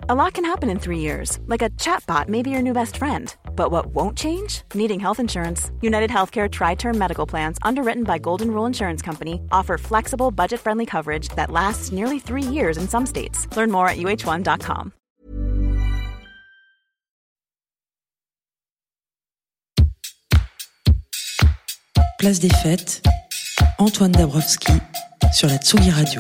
A lot can happen in 3 years, like a chatbot may be your new best friend. But what won't change? Needing health insurance. United Healthcare Tri-Term Medical Plans, underwritten by Golden Rule Insurance Company, offer flexible, budget-friendly coverage that lasts nearly 3 years in some states. Learn more at uh1.com. Place des Fêtes, Antoine Dabrowski sur la Tsugi Radio.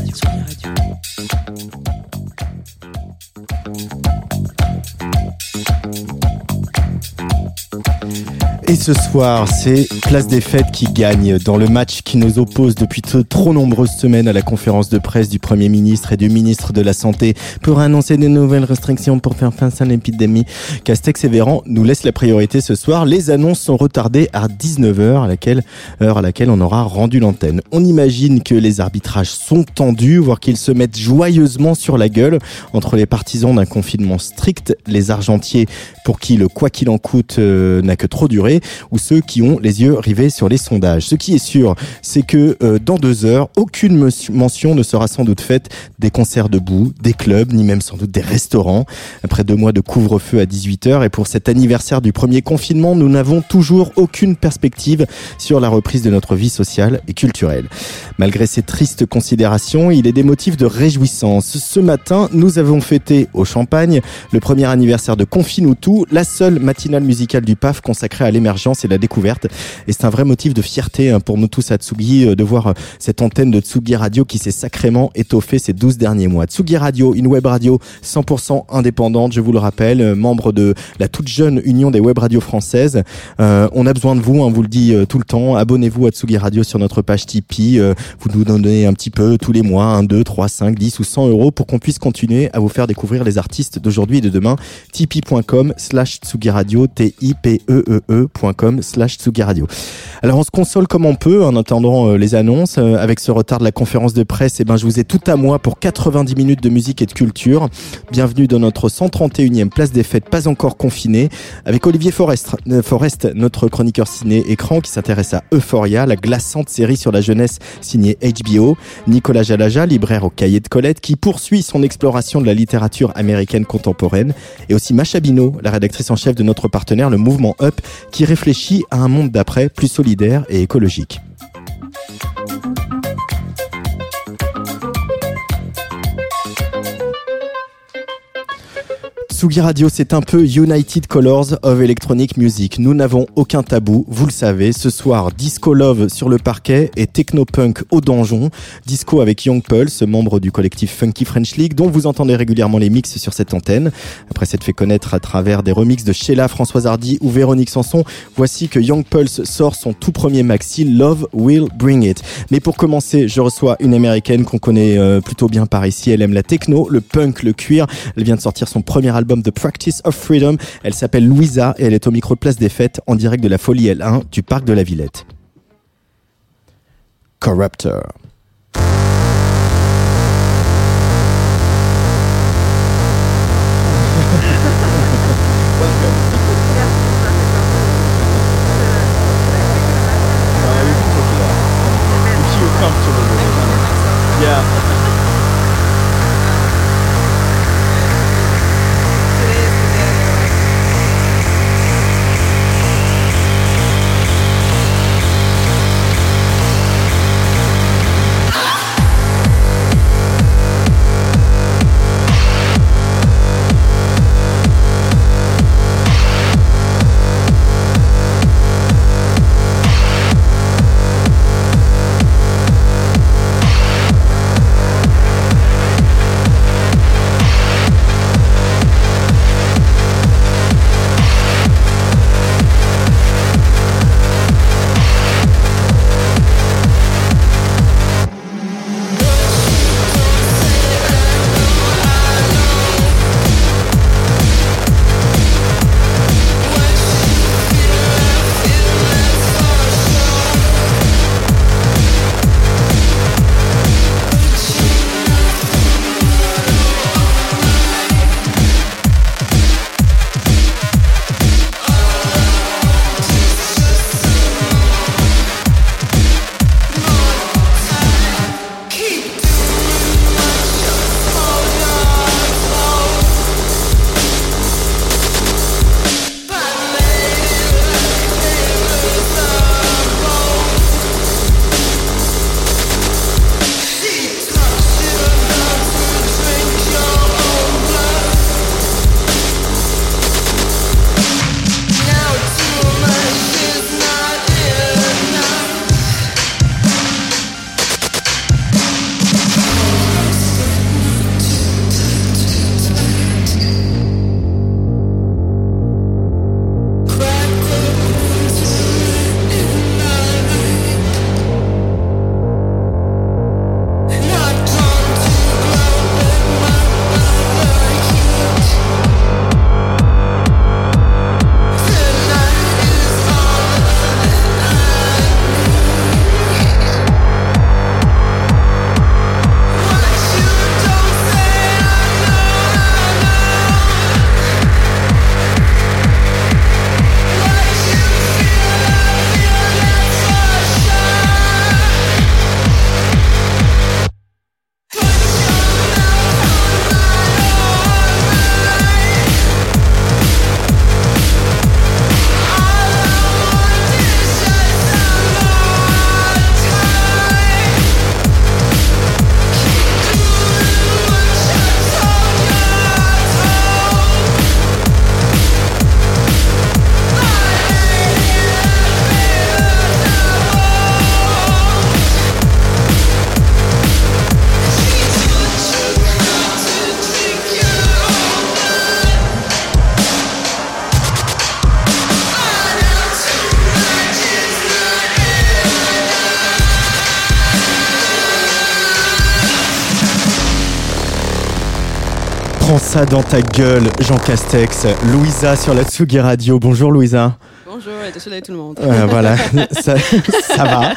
Et ce soir, c'est Place des Fêtes qui gagne dans le match qui nous oppose depuis trop nombreuses semaines à la conférence de presse du Premier ministre et du ministre de la Santé pour annoncer de nouvelles restrictions pour faire face à l'épidémie. Castex et Véran nous laissent la priorité ce soir. Les annonces sont retardées à 19h, heure à laquelle on aura rendu l'antenne. On imagine que les arbitrages sont tendus, voire qu'ils se mettent joyeusement sur la gueule entre les partisans d'un confinement strict, les argentiers pour qui le quoi qu'il en coûte n'a que trop duré, ou ceux qui ont les yeux rivés sur les sondages. Ce qui est sûr, c'est que dans 2 heures, aucune mention ne sera sans doute faite des concerts debout, des clubs, ni même sans doute des restaurants. Après 2 mois de couvre-feu à 18h, et pour cet anniversaire du premier confinement, nous n'avons toujours aucune perspective sur la reprise de notre vie sociale et culturelle. Malgré ces tristes considérations, il est des motifs de réjouissance. Ce matin, nous avons fêté au Champagne le premier anniversaire de Confinoutou, la seule matinale musicale du PAF consacrée à l'émergence et la découverte. Et c'est un vrai motif de fierté pour nous tous à Tsugi de voir cette antenne de Tsugi Radio qui s'est sacrément étoffée ces 12 derniers mois. Tsugi Radio, une web radio 100% indépendante, je vous le rappelle, membre de la toute jeune Union des web radios françaises. On a besoin de vous, on vous le dit tout le temps. Abonnez-vous à Tsugi Radio sur notre page Tipeee. Vous nous donnez un petit peu tous les mois, 1, 2, 3, 5, 10 ou 100 euros pour qu'on puisse continuer à vous faire découvrir les artistes d'aujourd'hui et de demain. Tipeee.com/Tsugi Radio, TIPEEE.com/Tsugi Radio. Alors on se console comme on peut en attendant les annonces. Avec ce retard de la conférence de presse, je vous ai tout à moi pour 90 minutes de musique et de culture. Bienvenue dans notre 131e Place des Fêtes, pas encore confinée, avec Olivier Forest, notre chroniqueur ciné-écran qui s'intéresse à Euphoria, la glaçante série sur la jeunesse signée HBO. Nicolas Jalaja, libraire au Cahier de Colette, qui poursuit son exploration de la littérature américaine contemporaine. Et aussi Macha Bino, la rédactrice en chef de notre partenaire, le mouvement Up, qui réfléchit à un monde d'après plus solidaire et écologique. Tsugi Radio, c'est un peu United Colors of Electronic Music. Nous n'avons aucun tabou, vous le savez. Ce soir, Disco Love sur le parquet et Technopunk au donjon. Disco avec Young Pulse, membre du collectif Funky French League, dont vous entendez régulièrement les mix sur cette antenne. Après s'être fait connaître à travers des remixes de Sheila, Françoise Hardy ou Véronique Sanson, voici que Young Pulse sort son tout premier maxi, Love Will Bring It. Mais pour commencer, je reçois une américaine qu'on connaît plutôt bien par ici. Elle aime la techno, le punk, le cuir. Elle vient de sortir son premier album The Practice of Freedom. Elle s'appelle Louisa et elle est au micro de Place des Fêtes en direct de la Folie L1 du parc de la Villette. Corruptor. ça dans ta gueule, Jean Castex. Louisa sur la Tsugi Radio. Bonjour Louisa. Bonjour et désolé tout le monde. Voilà, ça va.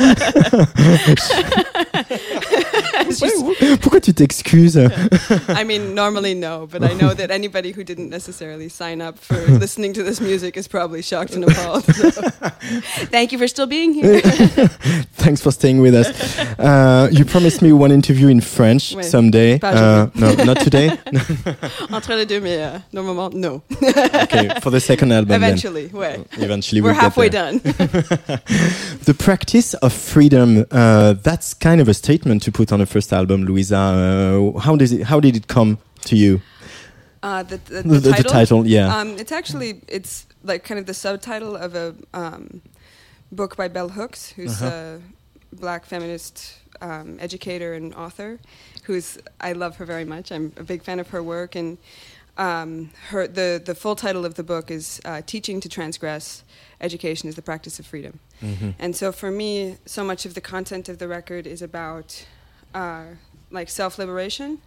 Pourquoi tu t'excuses? I mean, normally no, but I know that anybody who didn't necessarily sign up for listening to this music is probably shocked and appalled. So. Thank you for still being here. Thanks for staying with us. You promised me one interview in French someday. No, not today. Entre les deux, mais normalement, no. Okay, for the second album. Eventually, then. ouais. Eventually, we're halfway done. The practice of freedom. That's kind of a statement to put on a first album, Louisa. How did it come to you? The title, yeah. It's like kind of the subtitle of a book by Bell Hooks, who's a black feminist educator and author. I love her very much. I'm a big fan of her work, and the full title of the book is Teaching to Transgress: Education is the Practice of Freedom. Mm-hmm. And so for me, so much of the content of the record is about like self-liberation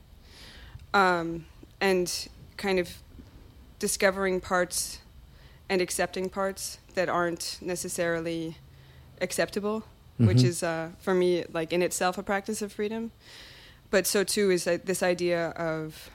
and kind of discovering parts and accepting parts that aren't necessarily acceptable, which is for me like in itself a practice of freedom. But so too is this idea of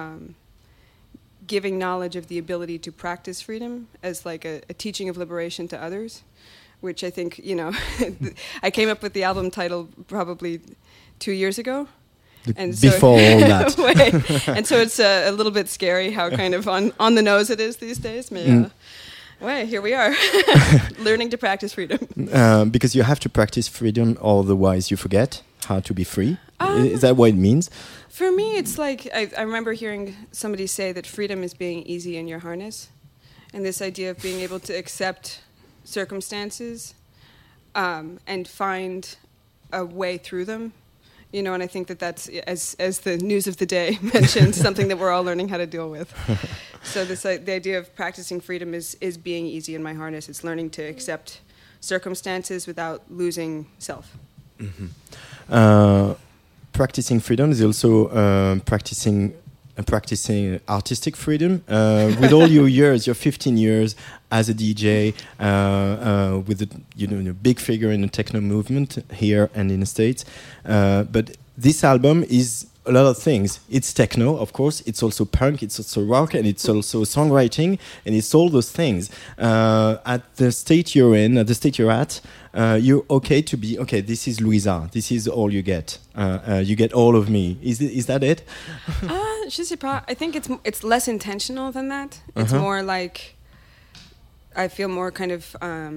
giving knowledge of the ability to practice freedom as like a teaching of liberation to others, which I think, I came up with the album title probably 2 years ago. And before all that. And so it's a little bit scary how kind of on the nose it is these days. Here we are, learning to practice freedom. Because you have to practice freedom, otherwise you forget how to be free. Is that what it means? For me, it's like, I remember hearing somebody say that freedom is being easy in your harness. And this idea of being able to accept circumstances and find a way through them. And I think that's, as the news of the day mentioned, something that we're all learning how to deal with. So the idea of practicing freedom is being easy in my harness. It's learning to accept circumstances without losing self. Mm-hmm. Practicing freedom is also practicing artistic freedom. With all your years, your 15 years as a DJ, with a big figure in the techno movement here and in the States. But this album is a lot of things. It's techno, of course. It's also punk. It's also rock, and it's also songwriting, and it's all those things. At the state you're in, at the state you're at, you're okay to be okay. This is Louisa. This is all you get. You get all of me. Is that it? Je sais pas. I think it's less intentional than that. It's more like I feel more kind of.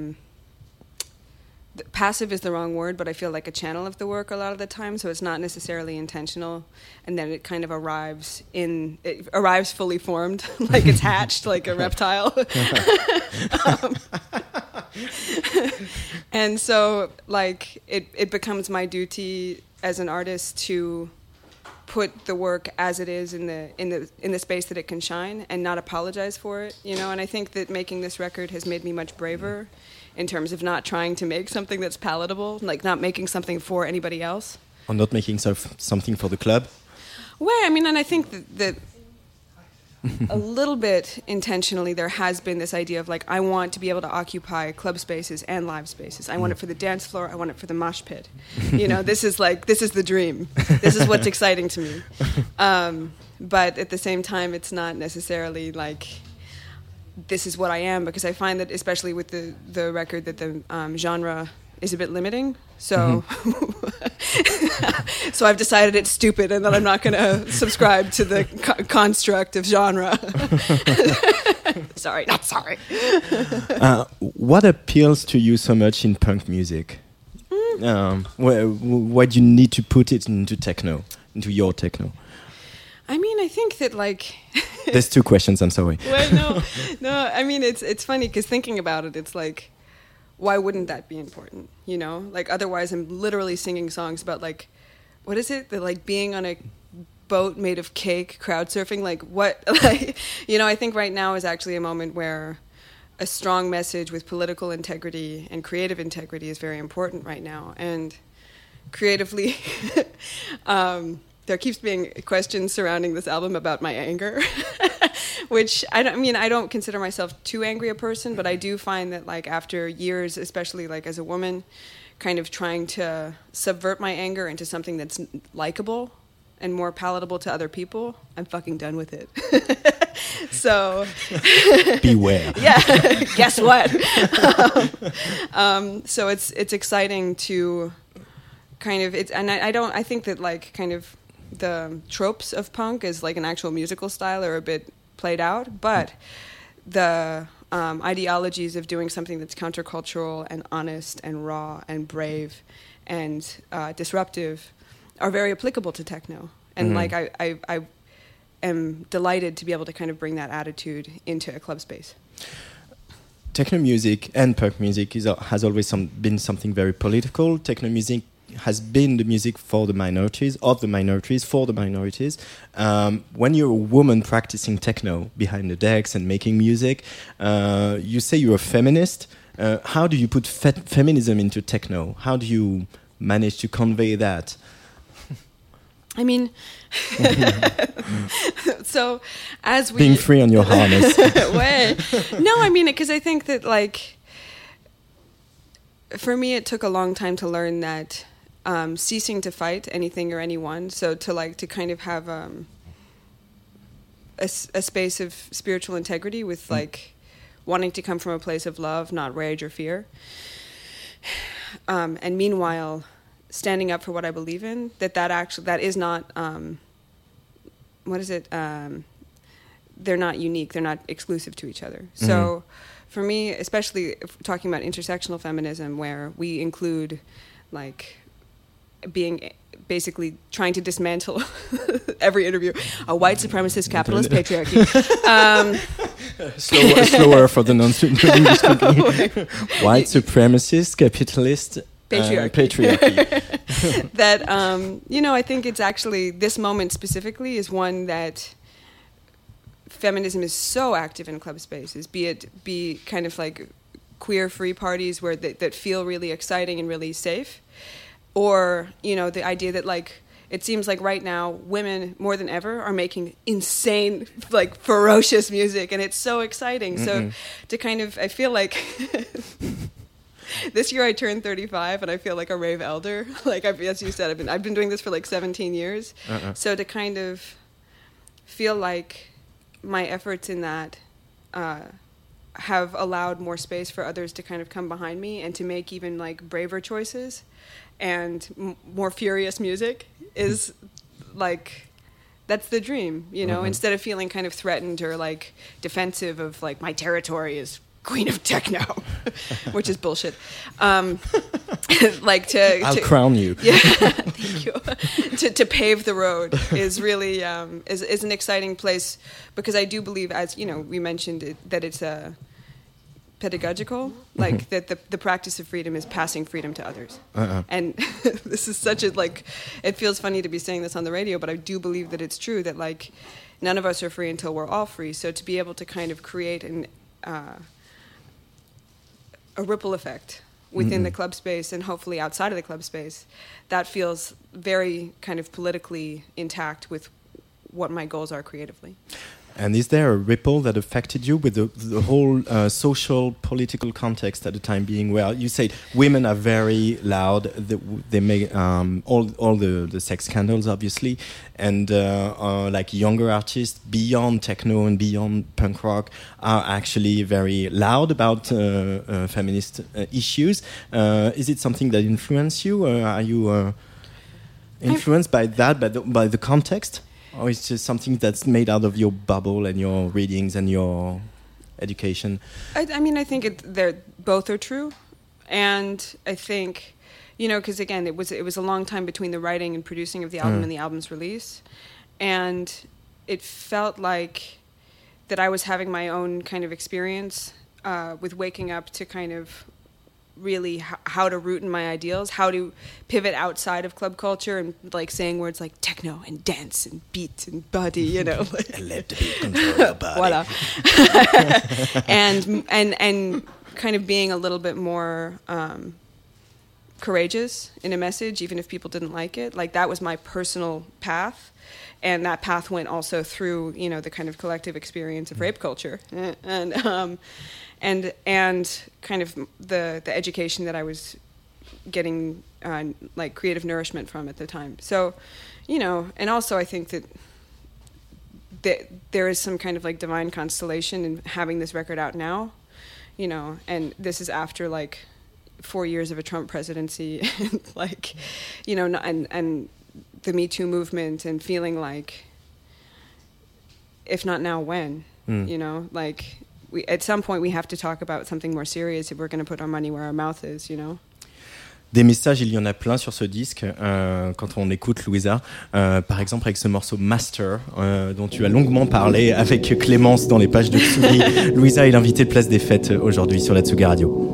Passive is the wrong word, but I feel like a channel of the work a lot of the time, so it's not necessarily intentional, and then it kind of arrives fully formed, like it's hatched, like a reptile. And so, like, it becomes my duty as an artist to put the work as it is in the space that it can shine, and not apologize for it, And I think that making this record has made me much braver. In terms of not trying to make something that's palatable, like not making something for anybody else. Or not making something for the club? Well, I mean, and I think that a little bit intentionally there has been this idea of like, I want to be able to occupy club spaces and live spaces. I want it for the dance floor. I want it for the mosh pit. This is the dream. This is what's exciting to me. But at the same time, it's not necessarily like... this is what I am, because I find that especially with the record that the genre is a bit limiting. So so I've decided it's stupid and that I'm not going to subscribe to the construct of genre. Sorry, not sorry. What appeals to you so much in punk music? Why do you need to put it into techno, into your techno? I mean, I think that like... There's two questions, I'm sorry. Well, no, I mean, it's funny because thinking about it, it's like, why wouldn't that be important, Like, otherwise I'm literally singing songs about, like, what is it? Like, being on a boat made of cake, crowd surfing, like, what? Like, I think right now is actually a moment where a strong message with political integrity and creative integrity is very important right now. And creatively... there keeps being questions surrounding this album about my anger, which I don't consider myself too angry a person, but I do find that like after years, especially like as a woman, kind of trying to subvert my anger into something that's likable and more palatable to other people, I'm fucking done with it. So beware. Yeah, guess what? So it's exciting to kind of I think that like kind of the tropes of punk as like an actual musical style are a bit played out, but the ideologies of doing something that's countercultural and honest and raw and brave and disruptive are very applicable to techno. And like I am delighted to be able to kind of bring that attitude into a club space. Techno music and punk music has always been something very political. Techno music has been the music for the minorities, for the minorities. When you're a woman practicing techno behind the decks and making music, you say you're a feminist. How do you put feminism into techno? How do you manage to convey that? I mean, so as we... Being free on your harness. Way. No, I mean, because I think that, like, for me, it took a long time to learn that ceasing to fight anything or anyone, so to kind of have a space of spiritual integrity with, like, wanting to come from a place of love, not rage or fear. And meanwhile... standing up for what I believe in, that is not, they're not unique, they're not exclusive to each other. Mm-hmm. So for me, especially if talking about intersectional feminism, where we include like being basically trying to dismantle every interview, a white supremacist capitalist patriarchy. Slower for the non-English speaking. White supremacist capitalist patriarchy. That, I think it's actually, this moment specifically is one that feminism is so active in club spaces, be kind of like queer free parties where that feel really exciting and really safe, or, the idea that like, it seems like right now women more than ever are making insane, like ferocious music, and it's so exciting. Mm-hmm. So to kind of, I feel like... This year I turned 35, and I feel like a rave elder. Like as you said, I've been doing this for like 17 years. So to kind of feel like my efforts in that have allowed more space for others to kind of come behind me and to make even like braver choices and more furious music is like, that's the dream, Instead of feeling kind of threatened or like defensive of like my territory is Queen of Techno, which is bullshit. Like I'll crown you. Yeah, thank you. To pave the road is really is an exciting place, because I do believe, as we mentioned that it's pedagogical, like that the practice of freedom is passing freedom to others. And this is such a it feels funny to be saying this on the radio, but I do believe that it's true that like none of us are free until we're all free. So to be able to kind of create a ripple effect within the club space and hopefully outside of the club space, that feels very kind of politically intact with what my goals are creatively. And is there a ripple that affected you with the whole social, political context at the time being? Well, you said women are very loud. They make all the sex scandals, obviously, and like younger artists beyond techno and beyond punk rock are actually very loud about feminist issues. Is it something that influenced you? Are you influenced by that, by the context? Or it's just something that's made out of your bubble and your readings and your education? I mean, I think both are true. And I think, because again, it was a long time between the writing and producing of the album and the album's release. And it felt like that I was having my own kind of experience with waking up to kind of really how to root in my ideals, how to pivot outside of club culture and like saying words like techno and dance and beat and body, and let the beat control your body. Voila. and kind of being a little bit more courageous in a message, even if people didn't like it. Like, that was my personal path. And that path went also through, you know, the kind of collective experience of rape culture and kind of the education that I was getting, like, creative nourishment from at the time. So, you know, and also I think that there is some kind of, like, divine constellation in having this record out now, you know, and this is after, like, 4 years of a Trump presidency, and, like, you know, and the Me Too movement, and feeling like, if not now, when? You know, like, at some point we have to talk about something more serious if we're going to put our money where our mouth is, you know. Des messages, il y en a plein sur ce disque quand on écoute Louisa. Par exemple avec ce morceau Master dont tu as longuement parlé avec Clémence dans les pages de Tsugi. Louisa est l'invitée de Place des Fêtes aujourd'hui sur la Tsugi Radio.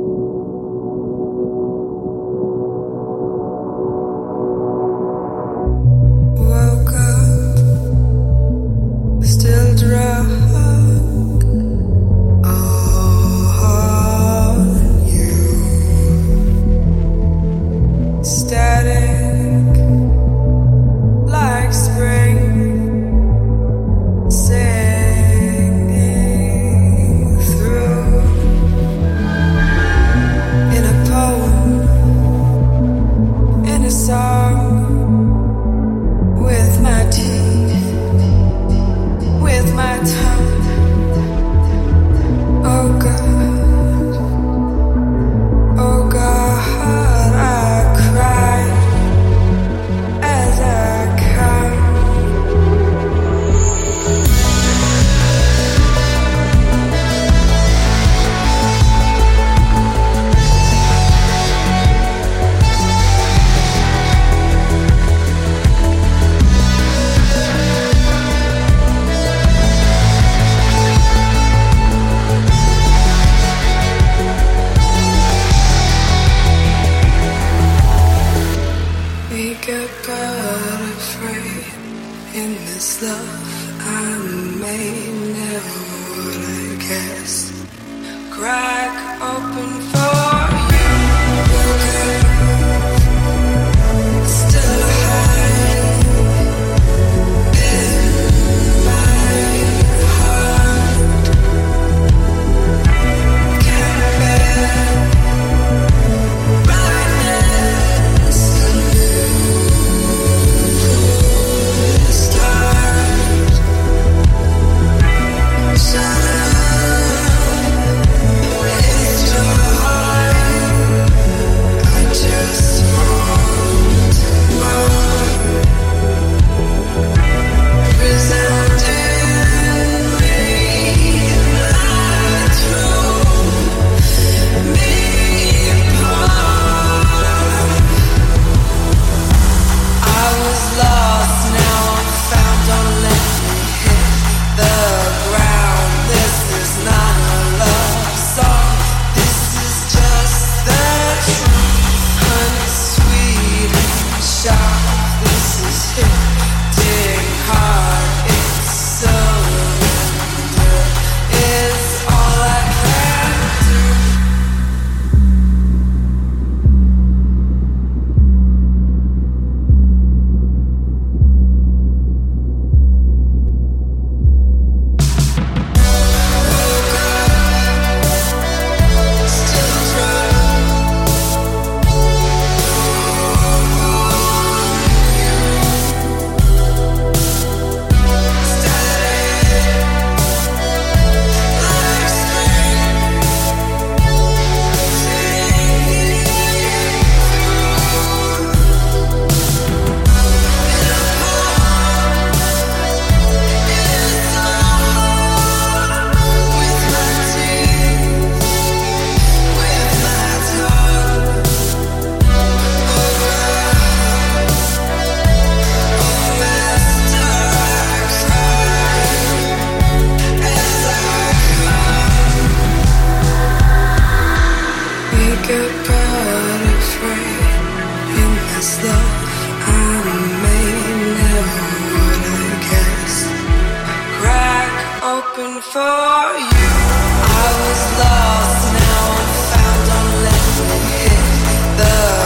open for you. I was lost, now I'm found. Don't let me hit the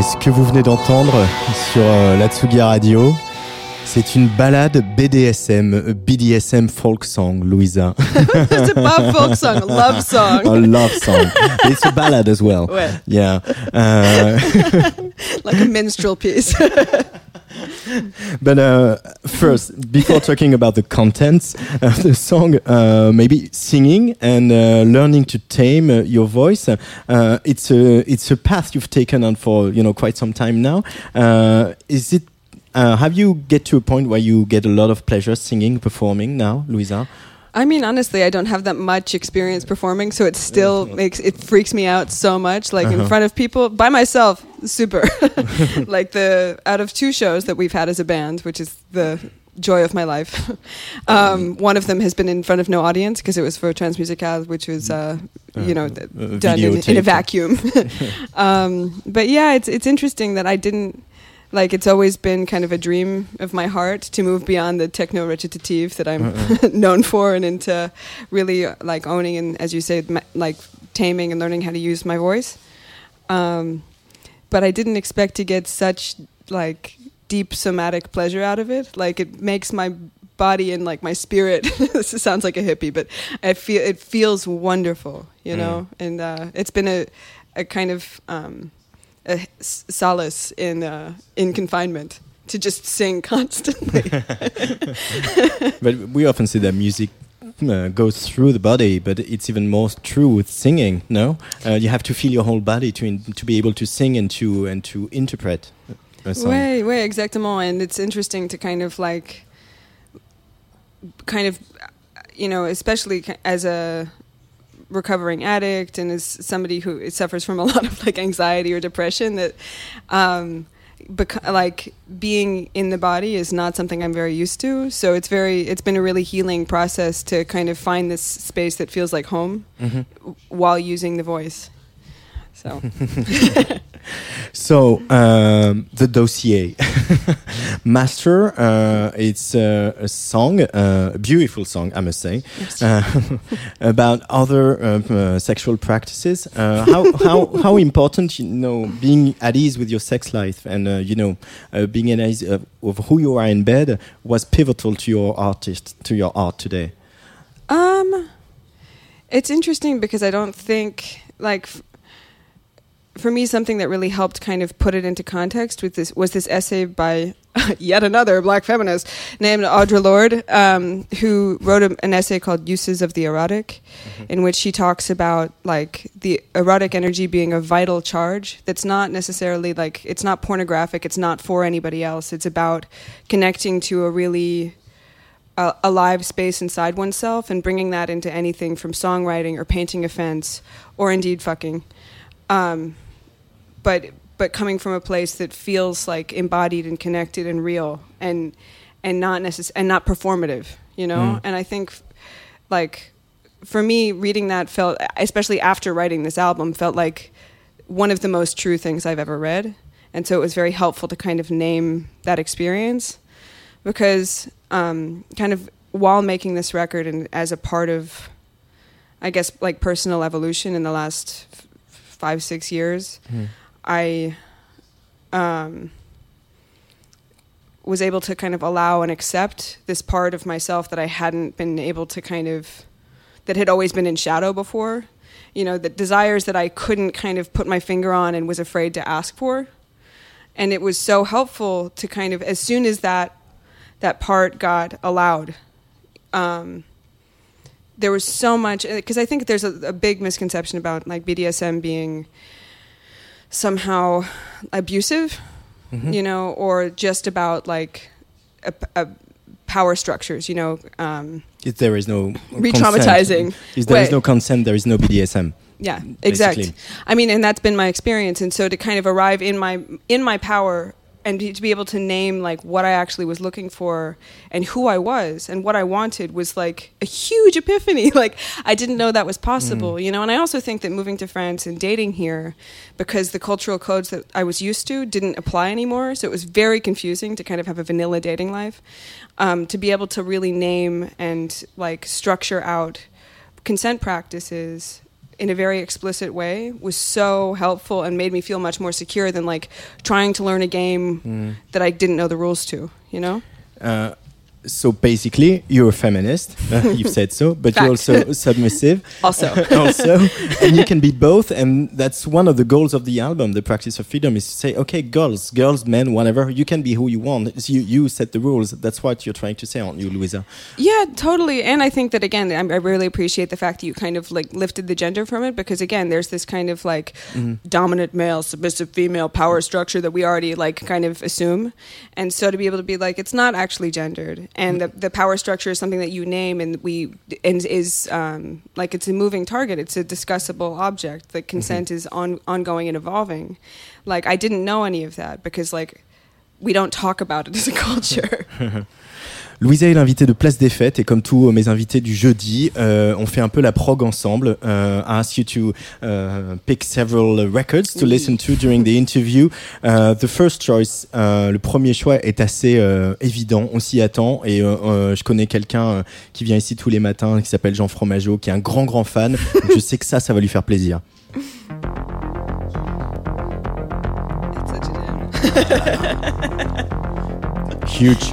ce que vous venez d'entendre sur la Tsugi Radio. C'est une ballade BDSM, BDSM folk song, Louisa. It's a pop folk song, a love song. A love song. It's a ballad as well. Ouais. Yeah. Like a minstrel piece. But first, before talking about the contents of the song, maybe singing and learning to tame your voice. It's a path you've taken on for quite some time now. Is it? Have you get to a point where you get a lot of pleasure singing, performing now, Louisa? I mean, honestly, I don't have that much experience performing, so it still freaks me out so much. Like in front of people, by myself, super. Like out of 2 shows that we've had as a band, which is the joy of my life. One of them has been in front of no audience because it was for Transmusicale, which was done in a vacuum. But yeah, it's interesting that I didn't. Like, it's always been kind of a dream of my heart to move beyond the techno-recitative that I'm known for and into really, like, owning and, as you say, like, taming and learning how to use my voice. But I didn't expect to get such, like, deep somatic pleasure out of it. Like, it makes my body and, like, my spirit, this sounds like a hippie, but it feels wonderful, you know? And it's been a kind of... a solace in confinement to just sing constantly. But we often say that music goes through the body, but it's even more true with singing. No, you have to feel your whole body to be able to sing and to interpret a song. Ouais, exactement. And it's interesting to kind of especially as a recovering addict and as somebody who suffers from a lot of like anxiety or depression, that like being in the body is not something I'm very used to. So it's been a really healing process to kind of find this space that feels like home while using the voice. So So the dossier, Master, it's a song, a beautiful song, I must say, about other sexual practices. How important, being at ease with your sex life and being at ease of who you are in bed was pivotal to your art today. It's interesting because I don't think for me, something that really helped kind of put it into context was this essay by yet another black feminist named Audre Lorde, who wrote an essay called Uses of the Erotic, in which she talks about like the erotic energy being a vital charge that's not necessarily like, it's not pornographic, it's not for anybody else, it's about connecting to a really alive space inside oneself and bringing that into anything from songwriting or painting a fence or indeed fucking. But coming from a place that feels like embodied and connected and real and not and not performative, And I think, like, for me, reading that felt, especially after writing this album, felt like one of the most true things I've ever read, and so it was very helpful to kind of name that experience, because kind of while making this record and as a part of, I guess, like personal evolution in the last 5-6 years. I was able to kind of allow and accept this part of myself that I hadn't been able to that had always been in shadow before, the desires that I couldn't kind of put my finger on and was afraid to ask for. And it was so helpful to kind of, as soon as that part got allowed, there was so much, because I think there's a big misconception about like BDSM being somehow abusive, or just about like a power structures, If there is no re-traumatizing. If there is no consent, there is no BDSM. Yeah, exactly. Basically. I mean, and that's been my experience. And so to kind of arrive in my power and to be able to name like what I actually was looking for and who I was and what I wanted was like a huge epiphany. Like I didn't know that was possible, And I also think that moving to France and dating here, because the cultural codes that I was used to didn't apply anymore, so it was very confusing to kind of have a vanilla dating life. To be able to really name and like structure out consent practices in a very explicit way was so helpful and made me feel much more secure than like trying to learn a game that I didn't know the rules to, you know? So basically, you're a feminist. You've said so, but Fact. you're also submissive. Also. And you can be both. And that's one of the goals of the album, The Practice of Freedom, is to say, okay, girls, men, whatever, you can be who you want. It's you set the rules. That's what you're trying to say, aren't you, Louisa? Yeah, totally. And I think that, again, I really appreciate the fact that you kind of like lifted the gender from it, because again, there's this kind of like dominant male, submissive female power structure that we already like kind of assume. And so to be able to be like, it's not actually gendered. And the power structure is something that you name and is like it's a moving target. It's a discussable object. The consent is ongoing and evolving. Like I didn't know any of that because like we don't talk about it as a culture. Louisa est l'invitée de Place des Fêtes et comme tous mes invités du jeudi, on fait un peu la prog ensemble. I ask you to pick several records to listen to during the interview. The first choice, le premier choix est assez évident, on s'y attend et je connais quelqu'un qui vient ici tous les matins qui s'appelle Jean Fromageau, qui est un grand fan. Donc je sais que ça va lui faire plaisir. It's such a jam. Huge.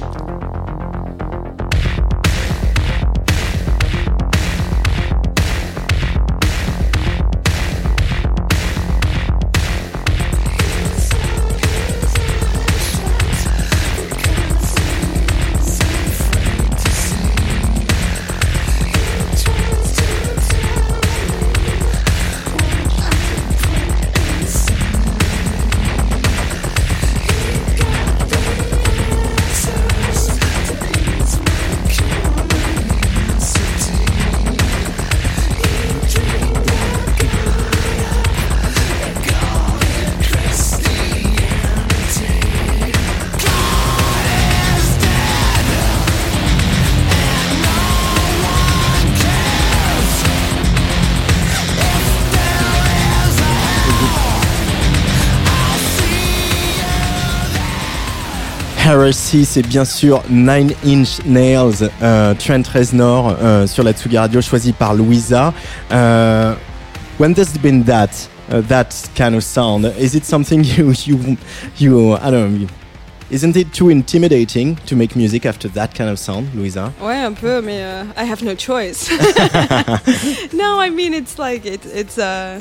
Heresy, c'est bien sûr Nine Inch Nails, Trent Reznor sur la Tsugi Radio, choisi par Louisa. When there's been that kind of sound, is it something you I don't know, isn't it too intimidating to make music after that kind of sound, Louisa? Ouais, un peu, mais I have no choice. No, I mean it's like it's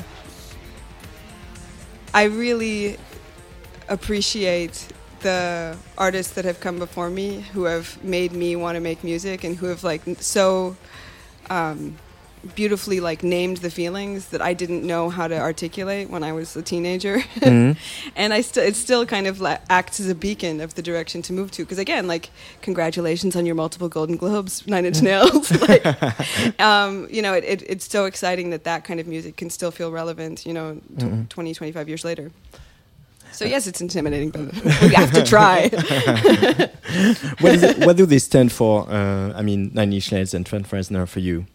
I really appreciate the artists that have come before me who have made me want to make music and who have like so beautifully like named the feelings that I didn't know how to articulate when I was a teenager. And it still kind of acts as a beacon of the direction to move to, because again, like, congratulations on your multiple Golden Globes, Nine Inch Nails. Like, you know, it's so exciting that kind of music can still feel relevant, you know, 20, 25 years later. So yes, it's intimidating, but we have to try. What do they stand for? I mean, Nine Inch Nails and Trent Reznor for you?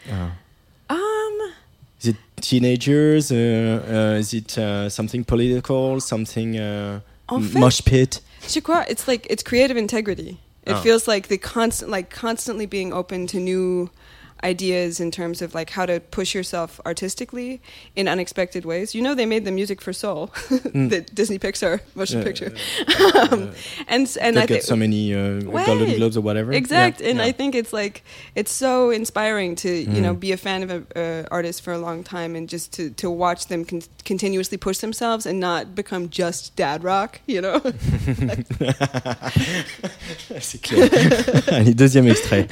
Is it teenagers? Is it something political? Something mosh pit? Je sais quoi? It's like it's creative integrity. It feels like the constantly being open to new ideas in terms of like how to push yourself artistically in unexpected ways. You know, they made the music for Soul, the Disney Pixar motion picture, and I think so many Golden Globes or whatever. Exact, and I think it's like it's so inspiring to you know be a fan of an artist for a long time and just to watch them continuously push themselves and not become just dad rock, you know. C'est clair. Allez, deuxième extrait.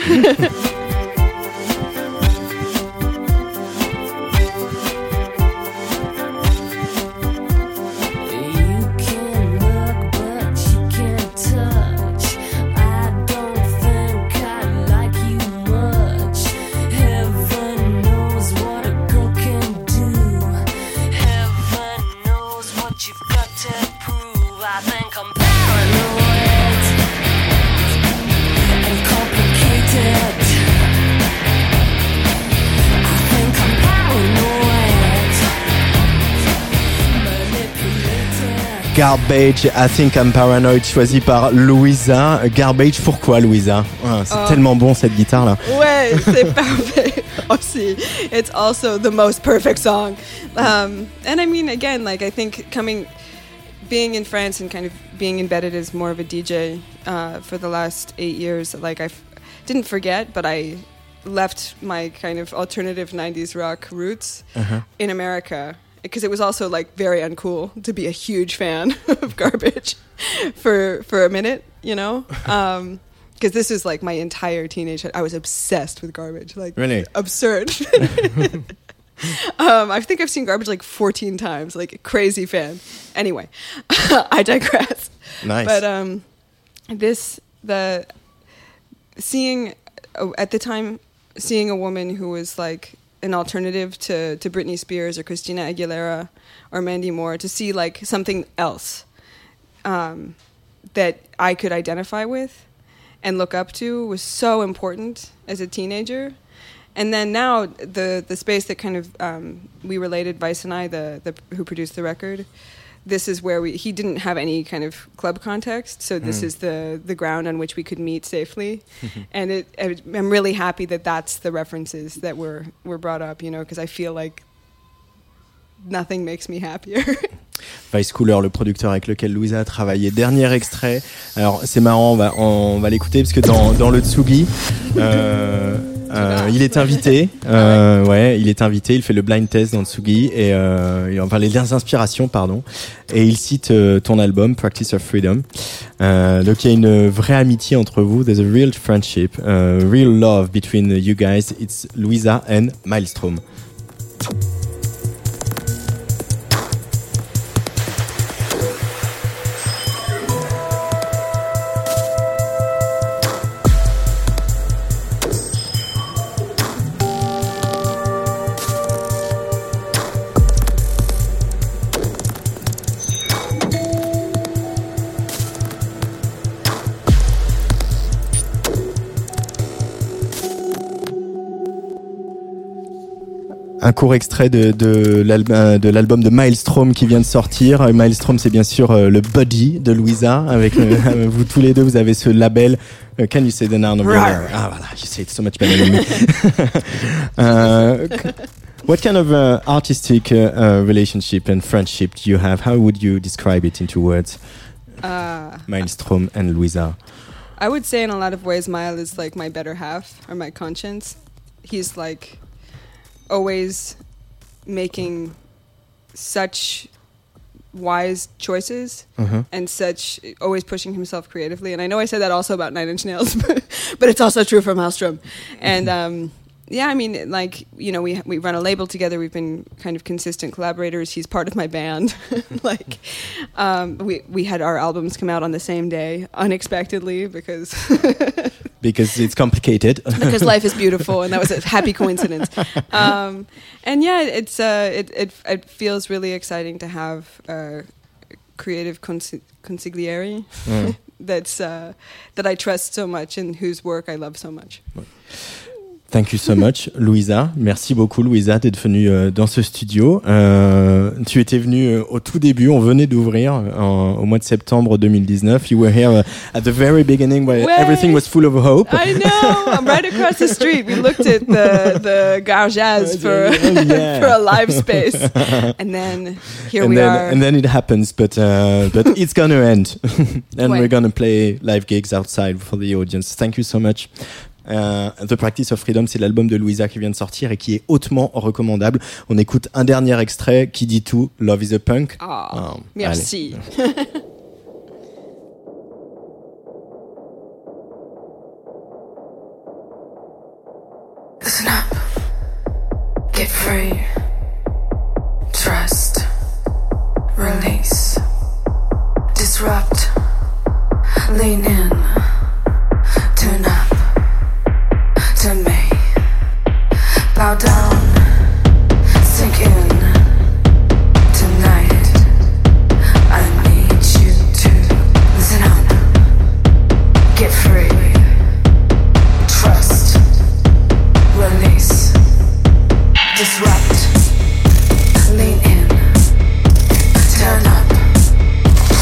Garbage, I Think I'm Paranoid, choisi par Louisa. Garbage, pourquoi Louisa? C'est tellement bon cette guitare là. Ouais, c'est parfait. Aussi, it's also the most perfect song. And I mean, again, like I think being in France and kind of being embedded as more of a DJ for the last 8 years, like I didn't forget, but I left my kind of alternative 90s rock roots in America. Because it was also like very uncool to be a huge fan of Garbage for a minute, you know? Because this is like my entire teenage. I was obsessed with Garbage, like really absurd. I think I've seen Garbage like 14 times, like a crazy fan. Anyway, I digress. Nice. But at the time, seeing a woman who was like an alternative to Britney Spears or Christina Aguilera or Mandy Moore, to see like something else that I could identify with and look up to was so important as a teenager. And then now the space that kind of we related, Vice and I, the who produced the record, this is where he didn't have any kind of club context, so this is the ground on which we could meet safely. And I'm really happy that that's the references that were brought up, you know, because I feel like nothing makes me happier. Vice Cooler, le producteur avec lequel Louisa a travaillé. Dernier extrait. Alors c'est marrant, on va l'écouter parce que dans le Tsugi, il est invité. Il est invité. Il fait le blind test dans le Tsugi et enfin les inspirations, pardon. Et il cite ton album Practice of Freedom. Donc il y a une vraie amitié entre vous. There's a real friendship, real love between you guys. It's Louisa and Maelstrom. Un court extrait de l'album de Maelstrom qui vient de sortir. Maelstrom, c'est bien sûr le buddy de Louisa. Avec vous tous les deux, vous avez ce label. Can you say the noun of your name? Ah voilà, you say it so much better than me. What kind of artistic relationship and friendship do you have? How would you describe it into words? Maelstrom and Louisa. I would say in a lot of ways, Mael is like my better half or my conscience. He's like always making such wise choices and such always pushing himself creatively. And I know I said that also about Nine Inch Nails, but it's also true for Maelstrom. And yeah, I mean, like, you know, we run a label together. We've been kind of consistent collaborators. He's part of my band. Like, we had our albums come out on the same day, unexpectedly, because because it's complicated. Because life is beautiful, and that was a happy coincidence. And yeah, it feels really exciting to have a creative consigliere that I trust so much and whose work I love so much. Thank you so much, Louisa. Merci beaucoup, Louisa, d'être venue dans ce studio. Tu étais venue au tout début, on venait d'ouvrir au mois de septembre 2019. You were here at the very beginning where everything was full of hope. I know, I'm right across the street. We looked at the Gare Jazz for a live space. And then we are. And then it happens, but it's going to end. And we're going to play live gigs outside for the audience. Thank you so much. The Practice of Freedom, c'est l'album de Louisa qui vient de sortir et qui est hautement recommandable. On écoute un dernier extrait qui dit tout. Love is a Punk. Merci. Listen up. Get free. Trust. Release. Disrupt. Lean in. Turn up. To me, bow down, sink in. Tonight, I need you to listen up, get free, trust, release, disrupt, lean in, turn up,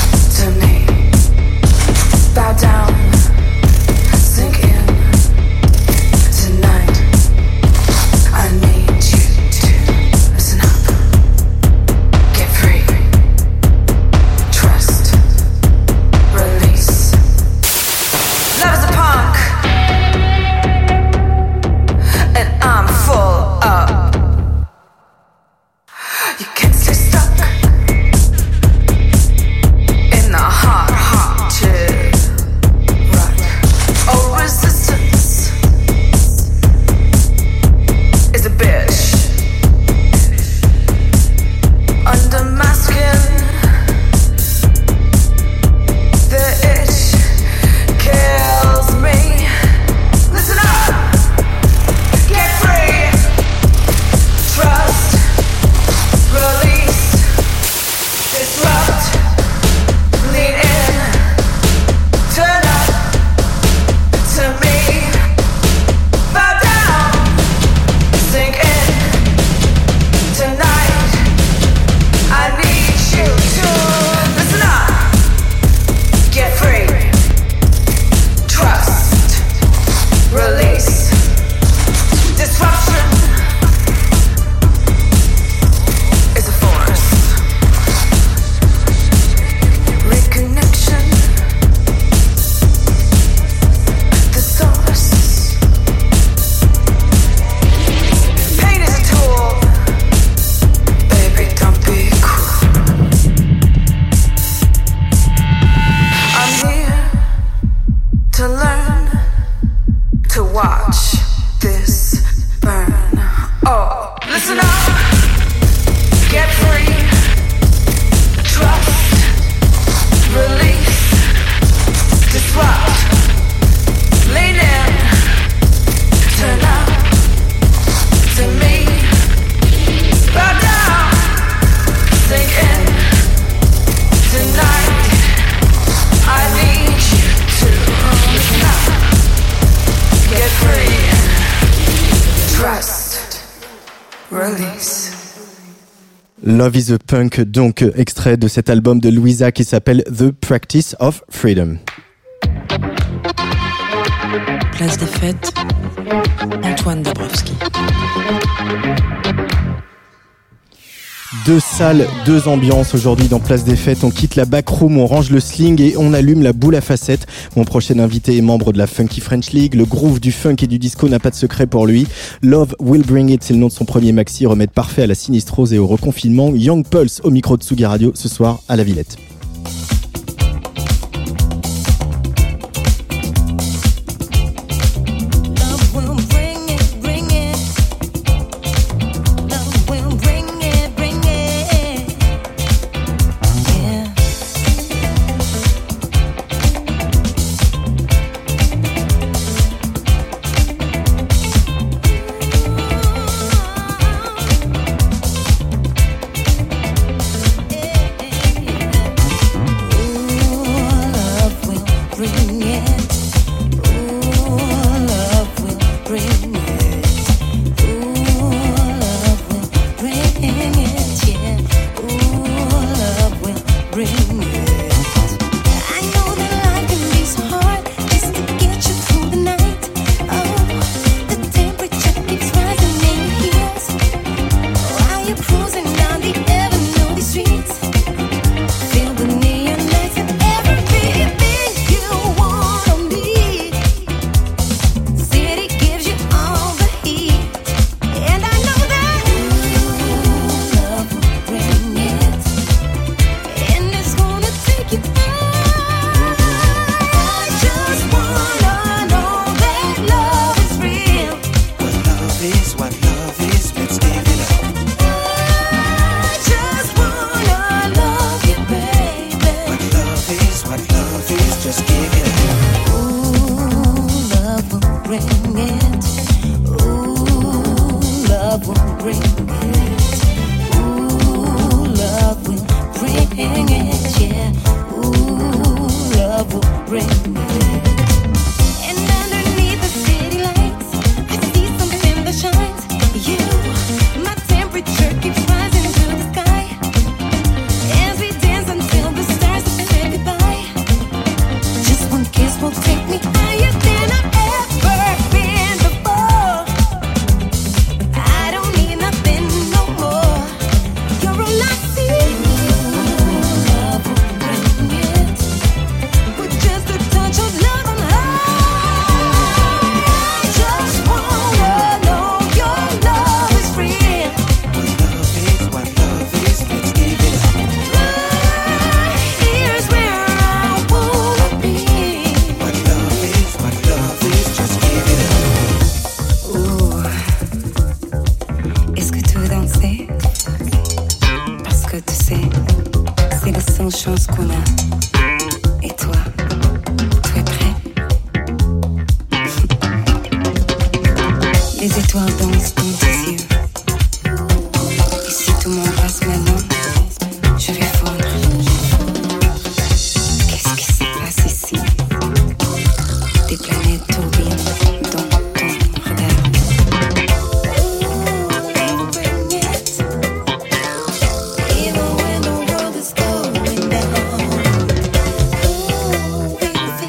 Get free. Trust. Release. Love is a Punk, donc extrait de cet album de Louisa qui s'appelle The Practice of Freedom. Place des Fêtes, Antoine Dabrowski. 2 salles, 2 ambiances aujourd'hui dans Place des Fêtes. On quitte la backroom, on range le sling et on allume la boule à facettes. Mon prochain invité est membre de la Funky French League. Le groove du funk et du disco n'a pas de secret pour lui. Love Will Bring It, c'est le nom de son premier maxi, remède parfait à la sinistrose et au reconfinement. Young Pulse au micro de Tsugi Radio ce soir à la Villette.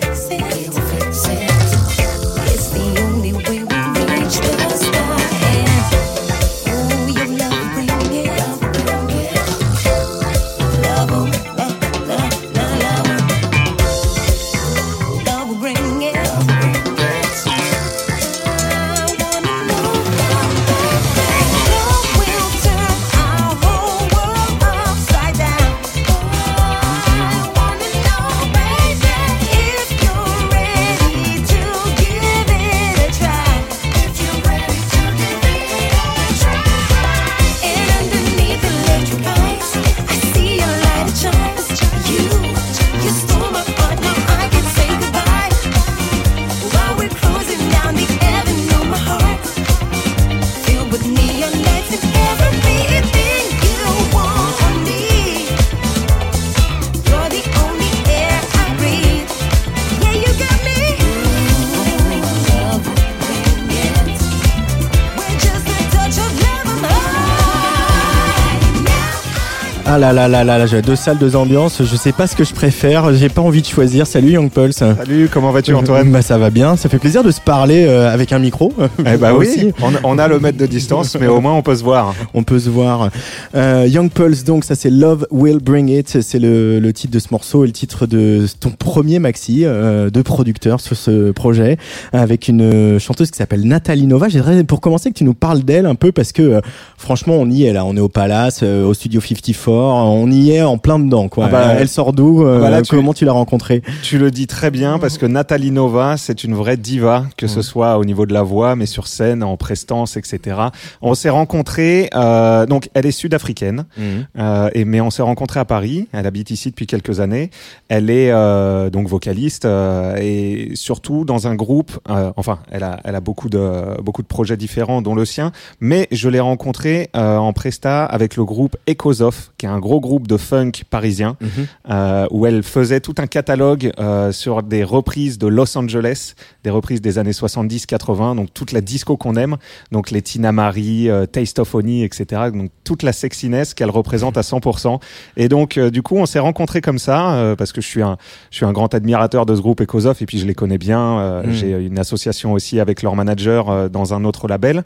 It's the only way we reach the stars. Ah là là là là, j'ai 2 salles, 2 ambiances. Je sais pas ce que je préfère. J'ai pas envie de choisir. Salut Young Pulse. Salut, comment vas-tu Antoine? Bah ça va bien. Ça fait plaisir de se parler avec un micro. Eh bah oui. On a le mètre de distance, mais au moins on peut se voir. On peut se voir. Young Pulse, donc ça c'est Love Will Bring It. C'est le titre de ce morceau et le titre de ton premier maxi de producteur sur ce projet, avec une chanteuse qui s'appelle Nathalie Nova. J'aimerais pour commencer que tu nous parles d'elle un peu parce que franchement on y est là. On est au Palace, au Studio 54. On y est en plein dedans, quoi. Elle sort d'où comment tu l'as rencontrée? Tu le dis très bien parce que Nathalie Nova, c'est une vraie diva, que ce soit au niveau de la voix, mais sur scène, en prestance, etc. On s'est rencontrés, donc elle est sud-africaine, mais on s'est rencontrés à Paris. Elle habite ici depuis quelques années. Elle est donc vocaliste et surtout dans un groupe. Enfin, elle a beaucoup de projets différents, dont le sien. Mais je l'ai rencontrée en presta avec le groupe Echosoft, qui est un gros groupe de funk parisien, où elle faisait tout un catalogue sur des reprises de Los Angeles, des reprises des années 70-80, donc toute la disco qu'on aime, donc les Tina Marie, Taste of Honey, etc. Donc toute la sexiness qu'elle représente à 100%. Et donc du coup, on s'est rencontrés comme ça, parce que je suis un grand admirateur de ce groupe Echosoft, et puis je les connais bien. J'ai une association aussi avec leur manager dans un autre label.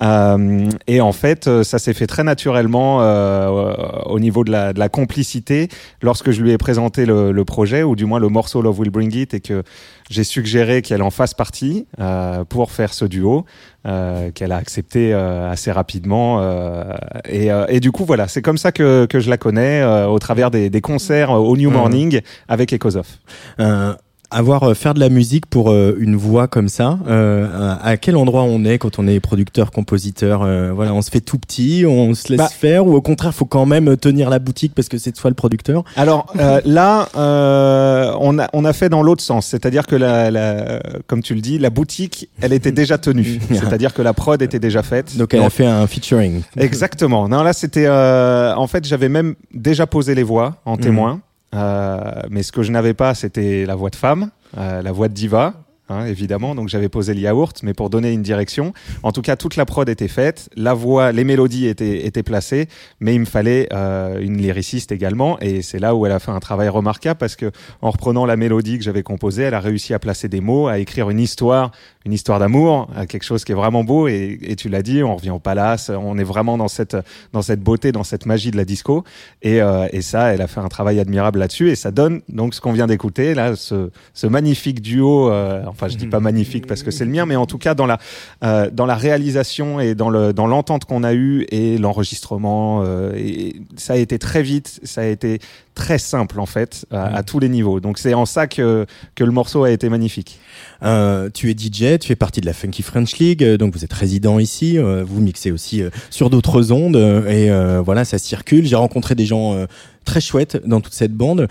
Et en fait, ça s'est fait très naturellement au niveau de la complicité lorsque je lui ai présenté le projet, ou du moins le morceau Love Will Bring It, et que j'ai suggéré qu'elle en fasse partie pour faire ce duo, qu'elle a accepté assez rapidement. Et du coup, voilà, c'est comme ça que je la connais, au travers des concerts au New Morning avec Echosoft. Faire de la musique pour une voix comme ça, à quel endroit on est quand on est producteur, compositeur? Voilà, on se fait tout petit, on se laisse faire, ou au contraire faut quand même tenir la boutique parce que c'est toi le producteur? Alors là, on a fait dans l'autre sens, c'est-à-dire que comme tu le dis, la boutique, elle était déjà tenue, c'est-à-dire que la prod était déjà faite. Donc elle a fait un featuring. Exactement. Non, là c'était en fait j'avais même déjà posé les voix en témoin. Mais ce que je n'avais pas, c'était la voix de femme, la voix de diva, évidemment. Donc j'avais posé le yaourt, mais pour donner une direction. En tout cas, toute la prod était faite, la voix, les mélodies étaient placées, mais il me fallait une lyriciste également. Et c'est là où elle a fait un travail remarquable, parce que en reprenant la mélodie que j'avais composée, elle a réussi à placer des mots, à écrire une histoire d'amour, quelque chose qui est vraiment beau. Et tu l'as dit, on revient au Palace, on est vraiment dans cette beauté, dans cette magie de la disco. Et ça, elle a fait un travail admirable là-dessus. Et ça donne donc ce qu'on vient d'écouter là, ce magnifique duo. Enfin, je dis pas magnifique parce que c'est le mien, mais en tout cas dans la réalisation et dans l'entente qu'on a eue et l'enregistrement. Et ça a été très vite, ça a été très simple en fait à tous les niveaux. Donc c'est en ça que le morceau a été magnifique. Tu es DJ, tu fais partie de la Funky French League, donc vous êtes résident ici, vous mixez aussi sur d'autres ondes, et voilà, ça circule. J'ai rencontré des gens très chouettes dans toute cette bande.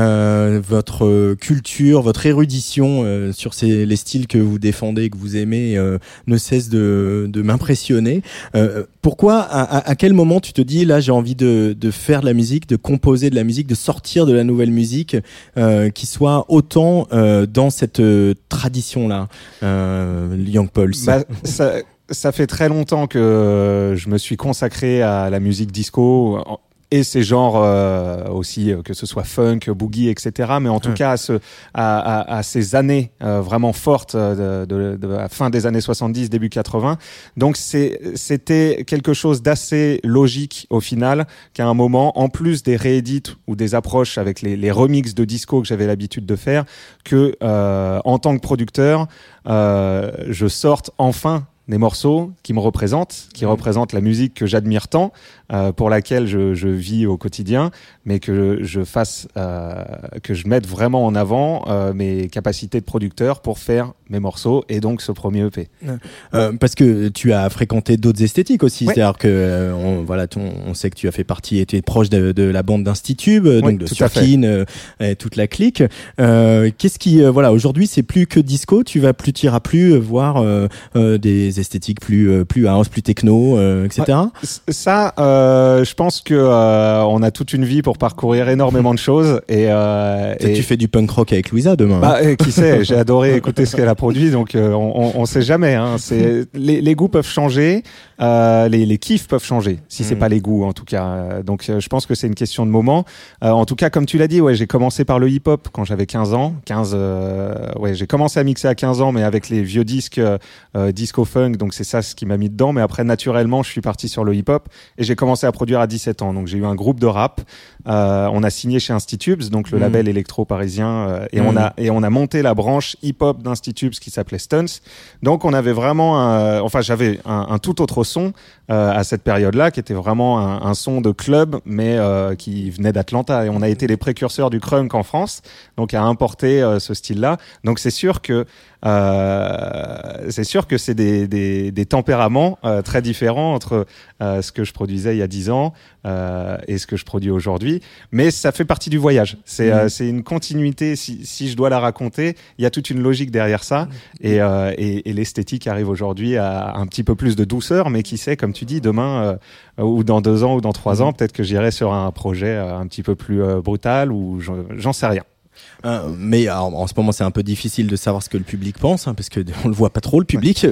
Votre culture, votre érudition sur les styles que vous défendez, que vous aimez, ne cesse de m'impressionner. Pourquoi, à quel moment tu te dis, là j'ai envie de faire de la musique, de composer de la musique, de sortir de la nouvelle musique qui soit autant dans cette tradition-là, Young Pulse? Ça fait très longtemps que je me suis consacré à la musique disco et ces genres aussi, que ce soit funk, boogie, etc. Mais en tout cas à ces années vraiment fortes de la fin des années 70, début 80. Donc c'était quelque chose d'assez logique au final, qu'à un moment, en plus des réédits ou des approches avec les remixes de disco que j'avais l'habitude de faire, que en tant que producteur, je sorte enfin des morceaux qui me représentent, qui représentent la musique que j'admire tant, pour laquelle je vis au quotidien, mais que je fasse, que je mette vraiment en avant mes capacités de producteur pour faire mes morceaux et donc ce premier EP. Parce que tu as fréquenté d'autres esthétiques aussi, c'est-à-dire que on sait que tu as fait partie et tu es proche de la bande d'Institube, donc de Surkin, et toute la clique. Qu'est-ce qui, aujourd'hui c'est plus que disco, tu iras plus voir des esthétiques plus house, plus techno, etc. Ça, je pense que on a toute une vie pour parcourir énormément de choses et tu fais du punk rock avec Louisa demain. Qui sait, j'ai adoré écouter ce qu'elle a produit, donc on sait jamais. Hein. Les goûts peuvent changer, les kiffs peuvent changer, si c'est pas les goûts en tout cas. Donc je pense que c'est une question de moment. En tout cas, comme tu l'as dit, ouais, j'ai commencé par le hip-hop quand j'avais 15 ans. J'ai commencé à mixer à 15 ans, mais avec les vieux disques disco funk, donc c'est ça ce qui m'a mis dedans. Mais après, naturellement, je suis parti sur le hip-hop et j'ai commencé à produire à 17 ans. Donc j'ai eu un groupe de rap. On a signé chez Institubes, donc le label électro parisien, et on a monté la branche hip-hop d'Institubes qui s'appelait Stunts. Donc on avait vraiment, j'avais un tout autre son à cette période-là, qui était vraiment un son de club, mais qui venait d'Atlanta. Et on a été les précurseurs du crunk en France, donc à importer ce style-là. Donc c'est sûr que c'est des tempéraments très différents entre ce que je produisais il y a 10 ans et ce que je produis aujourd'hui, mais ça fait partie du voyage. C'est une continuité. Si je dois la raconter, il y a toute une logique derrière ça, et l'esthétique arrive aujourd'hui à un petit peu plus de douceur, mais qui sait, comme tu dis, demain ou dans 2 ans ou dans 3 ans, peut-être que j'irai sur un projet un petit peu plus brutal, ou j'en sais rien. Mais alors, en ce moment, c'est un peu difficile de savoir ce que le public pense, hein, parce que on le voit pas trop, le public.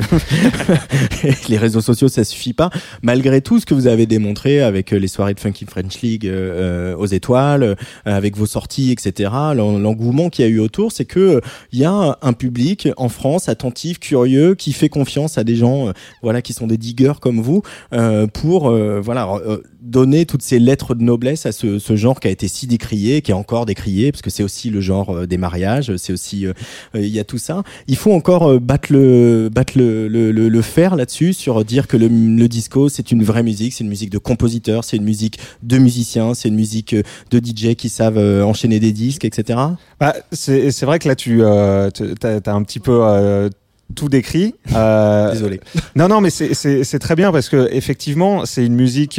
Les réseaux sociaux, ça suffit pas. Malgré tout ce que vous avez démontré avec les soirées de Funky French League aux Étoiles, avec vos sorties, etc., l'engouement qu'il y a eu autour, c'est que il y a un public en France attentif, curieux, qui fait confiance à des gens, qui sont des diggers comme vous, pour donner toutes ces lettres de noblesse à ce genre qui a été si décrié, qui est encore décrié, parce que c'est aussi le genre des mariages, c'est aussi il y a tout ça. Il faut encore battre le fer là-dessus, sur dire que le disco, c'est une vraie musique, c'est une musique de compositeurs, c'est une musique de musiciens, c'est une musique de DJ qui savent enchaîner des disques, etc. C'est vrai que là t'as un petit peu tout décrit. Désolé. Non, mais c'est très bien, parce que effectivement, c'est une musique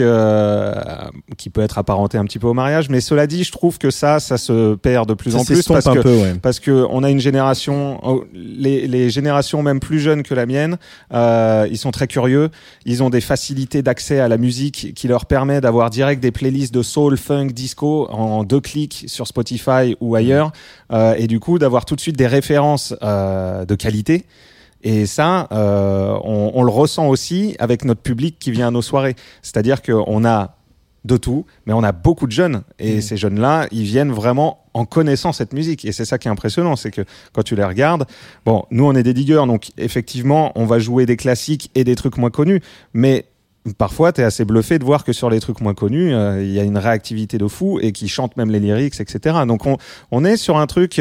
qui peut être apparentée un petit peu au mariage, mais cela dit, je trouve que ça se perd de plus en plus, parce que on a une génération, les générations même plus jeunes que la mienne, ils sont très curieux, ils ont des facilités d'accès à la musique qui leur permet d'avoir direct des playlists de soul, funk, disco en 2 clics sur Spotify ou ailleurs, et du coup d'avoir tout de suite des références de qualité. Et ça, on le ressent aussi avec notre public qui vient à nos soirées. C'est-à-dire qu'on a de tout, mais on a beaucoup de jeunes. Et ces jeunes-là, ils viennent vraiment en connaissant cette musique. Et c'est ça qui est impressionnant, c'est que quand tu les regardes, nous on est des diggers, donc effectivement, on va jouer des classiques et des trucs moins connus, mais parfois, t'es assez bluffé de voir que sur les trucs moins connus, il y a une réactivité de fou, et qui chantent même les lyrics, etc. Donc on est sur un truc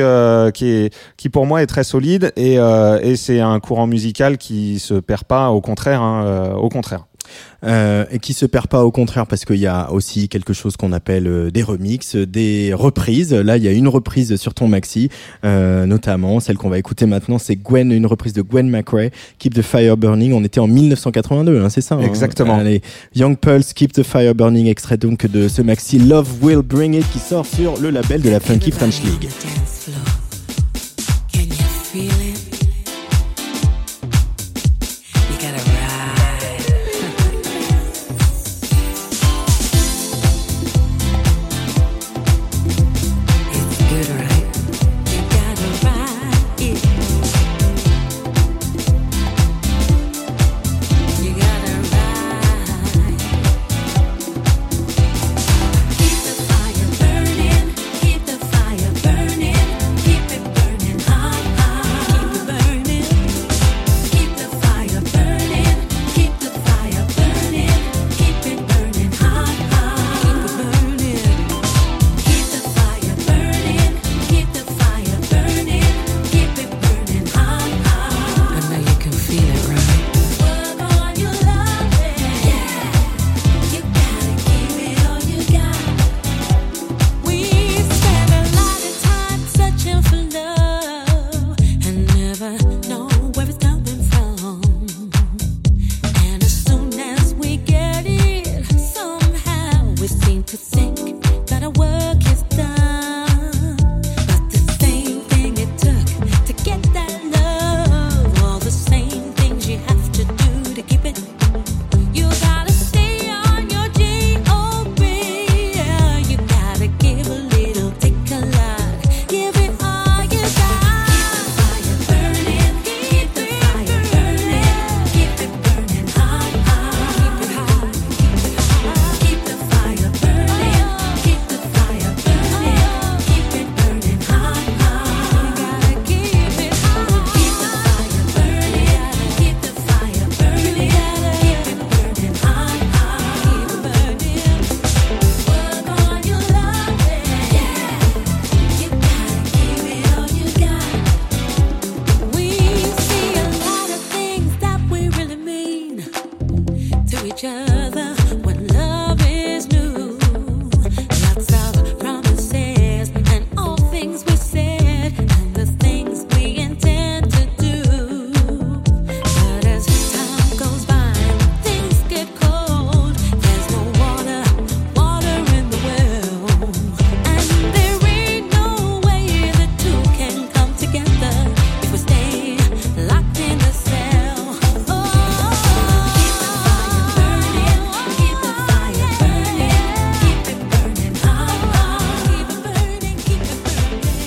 qui pour moi est très solide, et c'est un courant musical qui se perd pas, au contraire, au contraire. Et qui se perd pas, au contraire, parce qu'il y a aussi quelque chose qu'on appelle des remixes, des reprises. Là, il y a une reprise sur ton maxi, notamment celle qu'on va écouter maintenant, c'est une reprise de Gwen McRae, Keep the Fire Burning. On était en 1982, c'est ça, exactement. Allez, Young Pulse, Keep the Fire Burning, extrait donc de ce maxi Love Will Bring It, qui sort sur le label de la Funky French League. Keep the fire burning, keep the fire burning.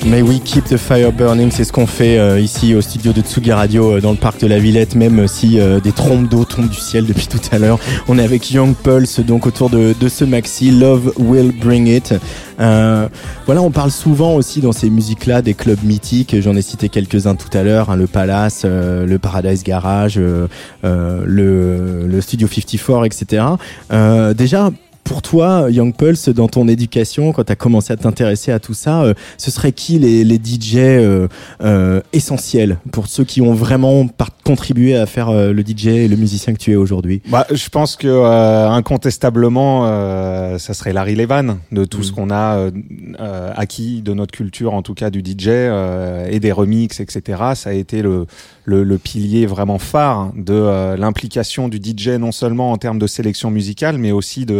Mais oui, Keep the Fire Burning, c'est ce qu'on fait ici au studio de Tsugi Radio dans le parc de la Villette, même si des trompes d'eau tombent du ciel depuis tout à l'heure. On est avec Young Pulse donc autour de ce maxi Love Will Bring It. Voilà, on parle souvent aussi dans ces musiques-là des clubs mythiques. J'en ai cité quelques-uns tout à l'heure, le Palace, le Paradise Garage, le Studio 54, etc. Déjà, pour toi, Young Pulse, dans ton éducation, quand tu as commencé à t'intéresser à tout ça, ce serait qui les DJ essentiels pour ceux qui ont vraiment contribué à faire le DJ et le musicien que tu es aujourd'hui? Je pense que incontestablement, ça serait Larry Levan, de tout ce qu'on a acquis de notre culture, en tout cas du DJ et des remixes, etc. Ça a été le pilier vraiment phare de l'implication du DJ, non seulement en termes de sélection musicale, mais aussi de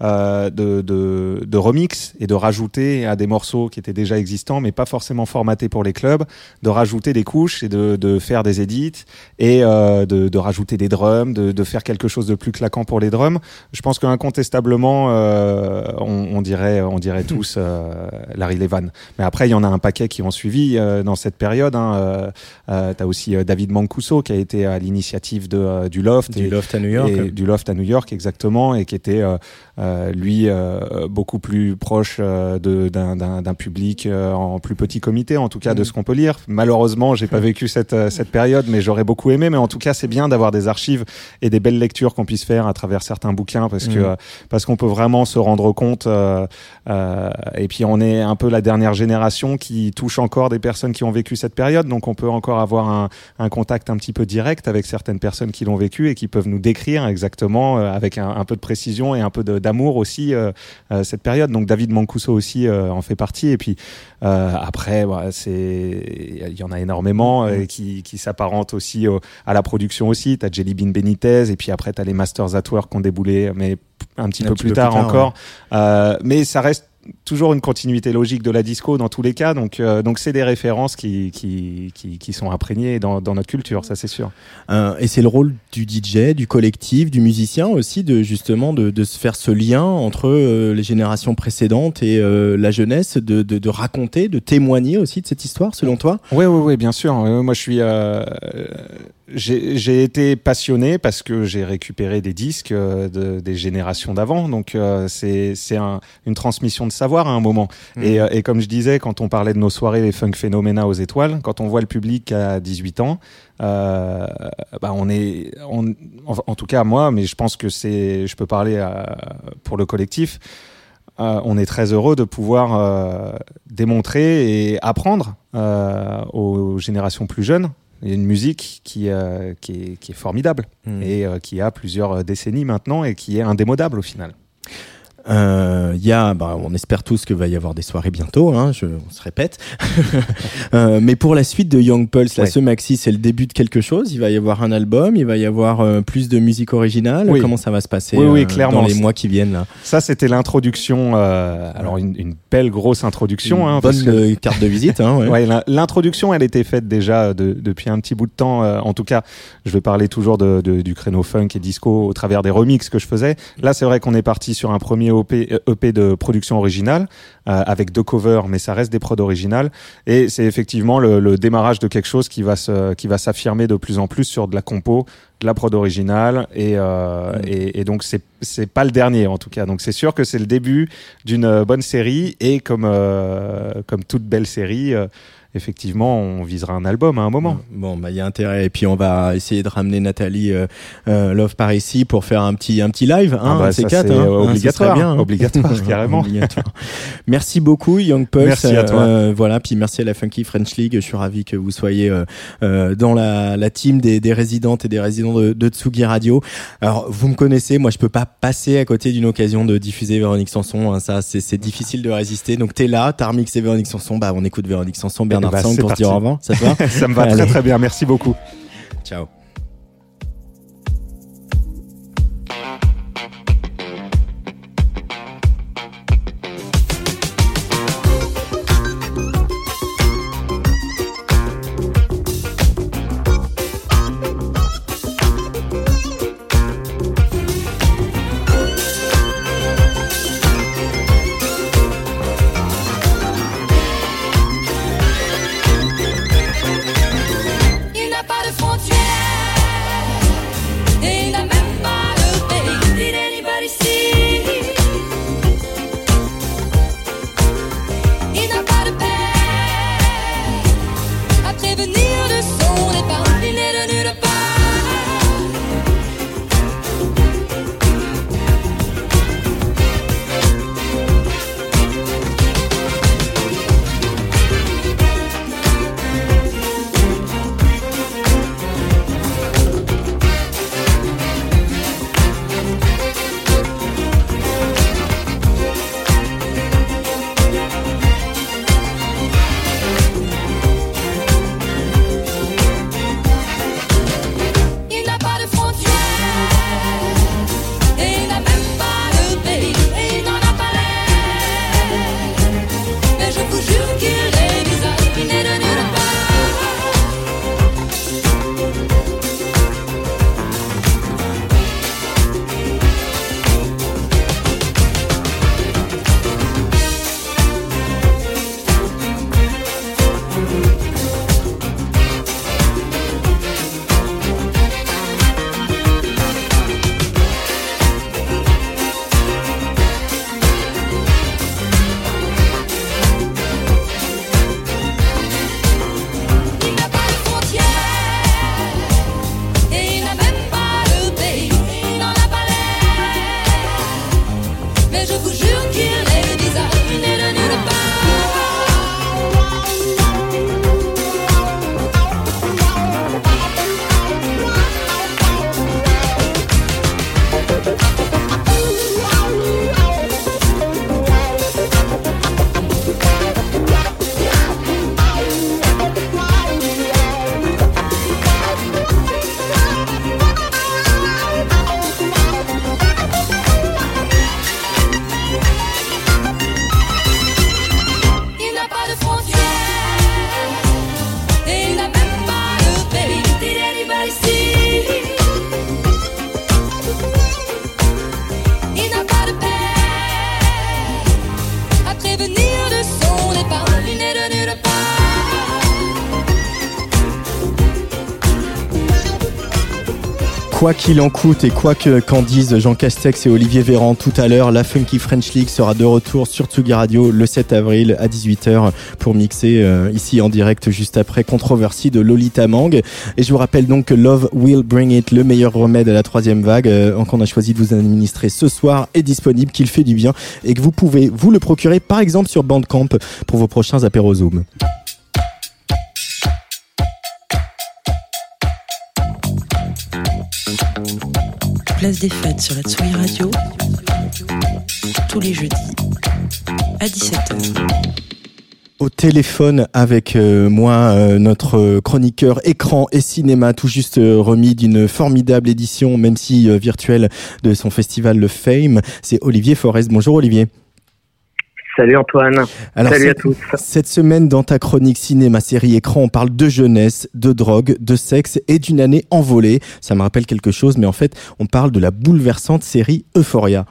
remix et de rajouter à des morceaux qui étaient déjà existants, mais pas forcément formatés pour les clubs, de rajouter des couches et de faire des edits et de rajouter des drums, de faire quelque chose de plus claquant pour les drums. Je pense qu'incontestablement, on dirait tous Larry Levan. Mais après, il y en a un paquet qui ont suivi dans cette période. T'as aussi David Mancuso qui a été à l'initiative du Loft. Du Loft à New York. Du Loft à New York, exactement, et qui était lui beaucoup plus proche d'un public en plus petit comité, en tout cas de ce qu'on peut lire. Malheureusement, j'ai pas vécu cette période, mais j'aurais beaucoup aimé. Mais en tout cas, c'est bien d'avoir des archives et des belles lectures qu'on puisse faire à travers certains bouquins, parce qu'on peut vraiment se rendre compte. Et puis on est un peu la dernière génération qui touche encore des personnes qui ont vécu cette période, donc on peut encore avoir un contact un petit peu direct avec certaines personnes qui l'ont vécu et qui peuvent nous décrire exactement avec un peu de précision et un peu d'amour aussi cette période. Donc David Mancuso aussi en fait partie. Et puis après, il y en a énormément qui s'apparentent aussi à la production aussi. T'as Jelly Bean Benitez, et puis après t'as les Masters at Work qui ont déboulé, mais un petit peu plus tard encore. Ouais. Mais ça reste toujours une continuité logique de la disco dans tous les cas, donc c'est des références qui sont imprégnées dans notre culture, ça c'est sûr. Et c'est le rôle du DJ, du collectif, du musicien aussi, de se faire ce lien entre les générations précédentes et la jeunesse, de raconter, de témoigner aussi de cette histoire, selon toi? Oui, bien sûr. Moi, j'ai été passionné parce que j'ai récupéré des disques des générations d'avant, donc c'est une transmission de savoir à un moment. Et comme je disais, quand on parlait de nos soirées les Funk Phenomena aux Étoiles, quand on voit le public à 18 ans, en tout cas moi, mais je pense que je peux parler pour le collectif, on est très heureux de pouvoir démontrer et apprendre aux générations plus jeunes une musique qui est formidable et qui a plusieurs décennies maintenant et qui est indémodable au final. On espère tous que va y avoir des soirées bientôt, on se répète. Mais pour la suite de Young Pulse, ce maxi, c'est le début de quelque chose. Il va y avoir un album, il va y avoir plus de musique originale. Oui. Comment ça va se passer clairement, dans les mois qui viennent là? Ça, c'était l'introduction. Alors une belle grosse introduction. Une bonne carte de visite. L'introduction, elle était faite déjà depuis un petit bout de temps. En tout cas, je vais parler toujours du créneau funk et disco au travers des remixes que je faisais. Là, c'est vrai qu'on est parti sur un premier EP de production originale avec 2 covers, mais ça reste des prods originales, et c'est effectivement le démarrage de quelque chose qui va s'affirmer de plus en plus sur de la compo, de la prod originale, et donc c'est pas le dernier en tout cas. Donc c'est sûr que c'est le début d'une bonne série, et comme toute belle série, effectivement, on visera un album à un moment. Bon, il y a intérêt. Et puis, on va essayer de ramener Nathalie Love par ici pour faire un petit live. C'est obligatoire. Obligatoire, carrément. Obligatoire. Merci beaucoup, Young Pulse. Merci à toi. Puis merci à la Funky French League. Je suis ravi que vous soyez dans la team des résidentes et des résidents de Tsugi Radio. Alors, vous me connaissez. Moi, je peux pas passer à côté d'une occasion de diffuser Véronique Sanson. Ça, c'est difficile de résister. Donc, t'es là, t'as remixé Véronique Sanson. On écoute Véronique Sanson, Bernard Sang pour se dire au revoir. Ça te va? Ça me va très très bien. Merci beaucoup. Ciao. Quoi qu'il en coûte et quoi qu'en disent Jean Castex et Olivier Véran tout à l'heure, la Funky French League sera de retour sur Tsugi Radio le 7 avril à 18h pour mixer ici en direct juste après Controversy de Lolita Mang. Et je vous rappelle donc que Love Will Bring It, le meilleur remède à la troisième vague, qu'on a choisi de vous administrer ce soir, est disponible, qu'il fait du bien et que vous pouvez vous le procurer par exemple sur Bandcamp pour vos prochains apéros Zoom. Place des Fêtes sur la Tsugi Radio, tous les jeudis à 17h. Au téléphone avec moi, notre chroniqueur écran et cinéma, tout juste remis d'une formidable édition, même si virtuelle, de son festival Le Fame, c'est Olivier Forest. Bonjour Olivier. Salut Antoine. Alors, salut à tous. Cette semaine, dans ta chronique cinéma, série, écran, on parle de jeunesse, de drogue, de sexe et d'une année envolée. Ça me rappelle quelque chose, mais en fait, on parle de la bouleversante série Euphoria.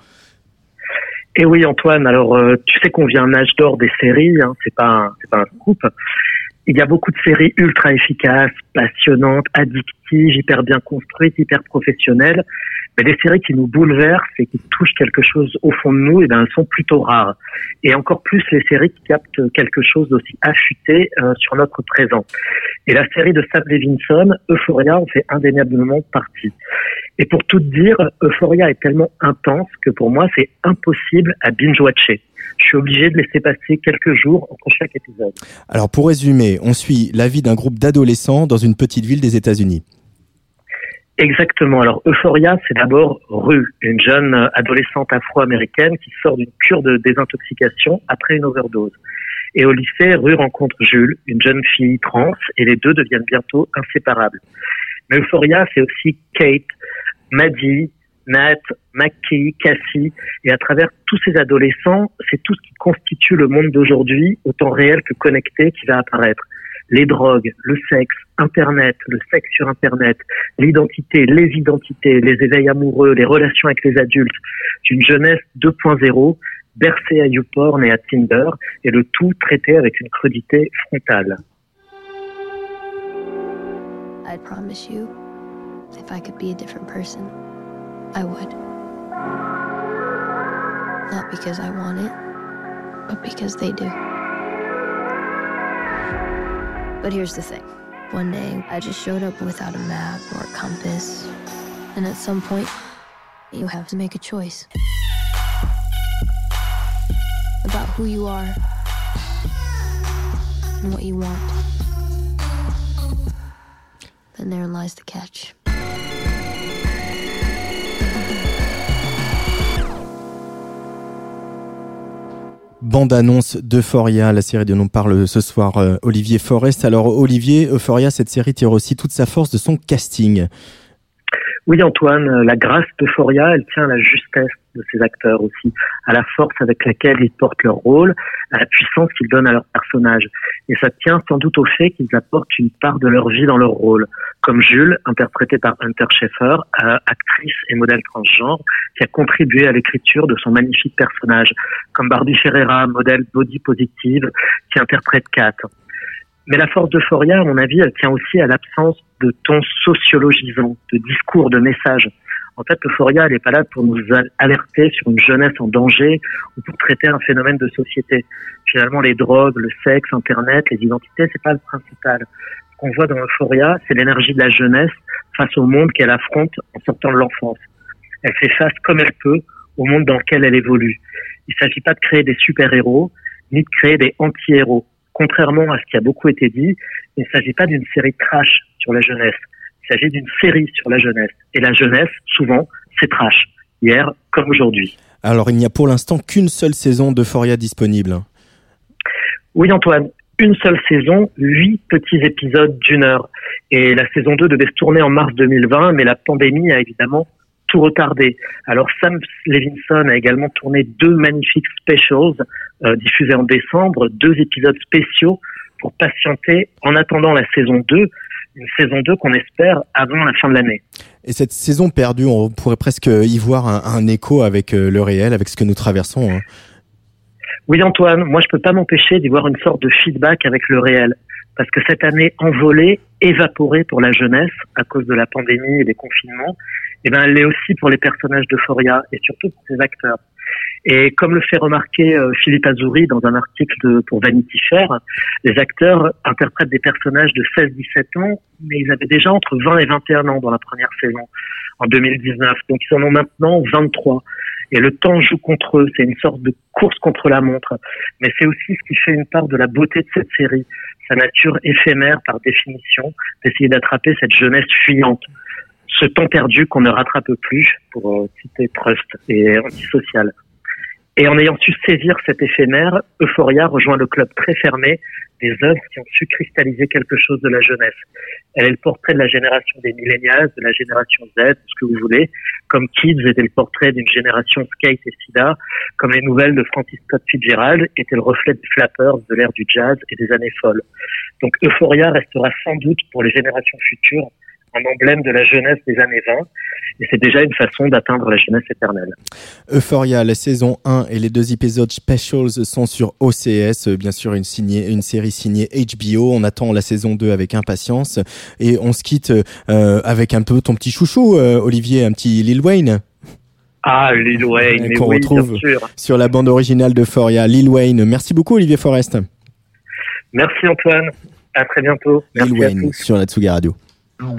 Et oui Antoine, alors tu sais qu'on vit un âge d'or des séries, hein, c'est pas un scoop. Il y a beaucoup de séries ultra efficaces, passionnantes, addictives, hyper bien construites, hyper professionnelles. Mais des séries qui nous bouleversent et qui touchent quelque chose au fond de nous, et ben elles sont plutôt rares. Et encore plus les séries qui captent quelque chose d'aussi affûté sur notre présent. Et la série de Sam Levinson, Euphoria, en fait indéniablement partie. Et pour tout dire, Euphoria est tellement intense que pour moi c'est impossible à binge-watcher. Je suis obligé de laisser passer quelques jours entre chaque épisode. Alors pour résumer, on suit la vie d'un groupe d'adolescents dans une petite ville des États-Unis. Exactement. Alors Euphoria, c'est d'abord Rue, une jeune adolescente afro-américaine qui sort d'une cure de désintoxication après une overdose. Et au lycée, Rue rencontre Jules, une jeune fille trans, et les deux deviennent bientôt inséparables. Mais Euphoria, c'est aussi Kate, Maddie, Nat, Mackie, Cassie, et à travers tous ces adolescents, c'est tout ce qui constitue le monde d'aujourd'hui, autant réel que connecté, qui va apparaître. Les drogues, le sexe, Internet, le sexe sur Internet, l'identité, les identités, les éveils amoureux, les relations avec les adultes, d'une jeunesse 2.0, bercée à YouPorn et à Tinder, et le tout traité avec une crudité frontale. I promise you, if I could be a different person, I would. Not because I want it, but because they do. But here's the thing. One day, I just showed up without a map or a compass. And at some point, you have to make a choice. About who you are and what you want. Then therein lies the catch. Bande-annonce d'Euphoria, la série dont on parle ce soir, Olivier Forest. Alors Olivier, Euphoria, cette série tire aussi toute sa force de son casting. Oui Antoine, la grâce d'Euphoria, elle tient à la justesse de ses acteurs aussi, à la force avec laquelle ils portent leur rôle, à la puissance qu'ils donnent à leur personnage. Et ça tient sans doute au fait qu'ils apportent une part de leur vie dans leur rôle. Comme Jules, interprété par Hunter Schafer, actrice et modèle transgenre, qui a contribué à l'écriture de son magnifique personnage. Comme Barbie Ferreira, modèle body positive, qui interprète Kat. Mais la force d'Euphoria, à mon avis, elle tient aussi à l'absence de ton sociologisant, de discours, de messages. En fait, Euphoria, elle n'est pas là pour nous alerter sur une jeunesse en danger ou pour traiter un phénomène de société. Finalement, les drogues, le sexe, Internet, les identités, c'est pas le principal. Ce qu'on voit dans Euphoria, c'est l'énergie de la jeunesse face au monde qu'elle affronte en sortant de l'enfance. Elle fait face comme elle peut au monde dans lequel elle évolue. Il ne s'agit pas de créer des super-héros, ni de créer des anti-héros. Contrairement à ce qui a beaucoup été dit, il ne s'agit pas d'une série trash sur la jeunesse. Il s'agit d'une série sur la jeunesse. Et la jeunesse, souvent, c'est trash. Hier comme aujourd'hui. Alors, il n'y a pour l'instant qu'une seule saison d'Euphoria disponible. Oui, Antoine. Une seule saison, 8 petits épisodes d'1 heure. Et la saison 2 devait se tourner en mars 2020, mais la pandémie a évidemment tout retardé. Alors Sam Levinson a également tourné 2 magnifiques specials diffusés en décembre, 2 épisodes spéciaux pour patienter en attendant la saison 2, une saison 2 qu'on espère avant la fin de l'année. Et cette saison perdue, on pourrait presque y voir un écho avec le réel, avec ce que nous traversons. Hein. Oui Antoine, moi je peux pas m'empêcher d'y voir une sorte de feedback avec le réel. Parce que cette année envolée évaporée pour la jeunesse à cause de la pandémie et des confinements, eh ben elle l'est aussi pour les personnages d'Euphoria et surtout pour ses acteurs. Et comme le fait remarquer Philippe Azouri dans un article pour Vanity Fair, les acteurs interprètent des personnages de 16-17 ans, mais ils avaient déjà entre 20 et 21 ans dans la première saison, en 2019. Donc ils en ont maintenant 23. Et le temps joue contre eux, c'est une sorte de course contre la montre. Mais c'est aussi ce qui fait une part de la beauté de cette série, sa nature éphémère par définition, d'essayer d'attraper cette jeunesse fuyante. Ce temps perdu qu'on ne rattrape plus, pour citer Proust, et antisocial. Et en ayant su saisir cet éphémère, Euphoria rejoint le club très fermé des œuvres qui ont su cristalliser quelque chose de la jeunesse. Elle est le portrait de la génération des millennials, de la génération Z, ce que vous voulez, comme Kids était le portrait d'une génération skate et sida, comme les nouvelles de Francis Scott Fitzgerald étaient le reflet des flappers de l'ère du jazz et des années folles. Donc Euphoria restera sans doute pour les générations futures un emblème de la jeunesse des années 20, et c'est déjà une façon d'atteindre la jeunesse éternelle. Euphoria, la saison 1 et les 2 épisodes specials sont sur OCS, bien sûr une série signée HBO. On attend la saison 2 avec impatience, et on se quitte avec un peu ton petit chouchou, Olivier, un petit Lil Wayne. Ah, Lil Wayne, mais qu'on oui, retrouve bien sûr. Sur la bande originale d'Euphoria, Lil Wayne. Merci beaucoup, Olivier Forest. Merci Antoine, à très bientôt. Merci Lil Wayne sur la Tsugi Radio. Chromed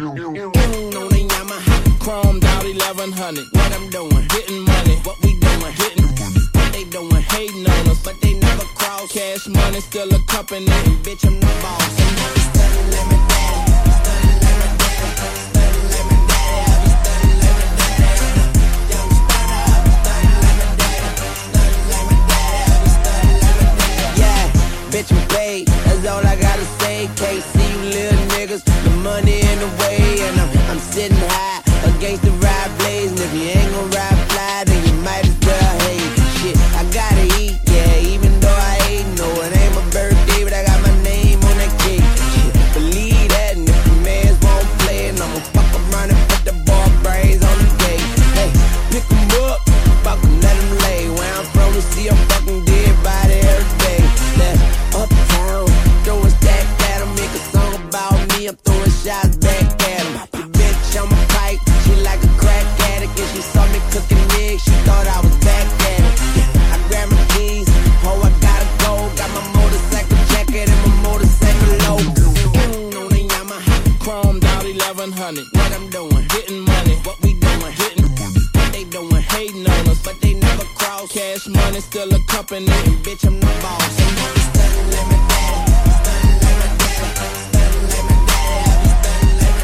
out 1100. What I'm doing, getting money. What we doing, getting what they doing, hating on us, but they never cross. Cash money still a company, and bitch I'm the boss. Study like my daddy, study like my daddy, study like my daddy. I be studying like my daddy. Young starter, study like my daddy, study like my daddy. I be studying like my daddy. Yeah, bitch I'm paid. That's all I gotta say. Can't see you little niggas. The money in the way, and I'm sitting high against the ride blaze. And if you ain't gon' ride fly, then you might as well hate. Shit, I gotta eat, yeah, even though I ain't. No, it ain't my birthday, but I got my name on that cake. Shit, believe that, and if the mans won't play, and I'ma fuck around and put the ball brains on the gate. Hey, pick 'em up, fuck 'em, let 'em lay. Where I'm from, we see a fucking dead body every day. That's uptown, throw a stack at 'em, make a song about me, I'm throwing shots back at 'em. Your bitch on my pipe, she like a crack addict, and she saw me cooking eggs, she thought I was back at it. Yeah, I grabbed my keys, oh I gotta go, got my motorcycle jacket and my motorcycle logo. On the Yamaha, chromed out 1100. What I'm doing, getting money. What we doing, getting what they doing, hating on us, but they never cross. Cash money still a company, and bitch I'm the boss. Study like my daddy, study like my daddy, study like my daddy. I be studying like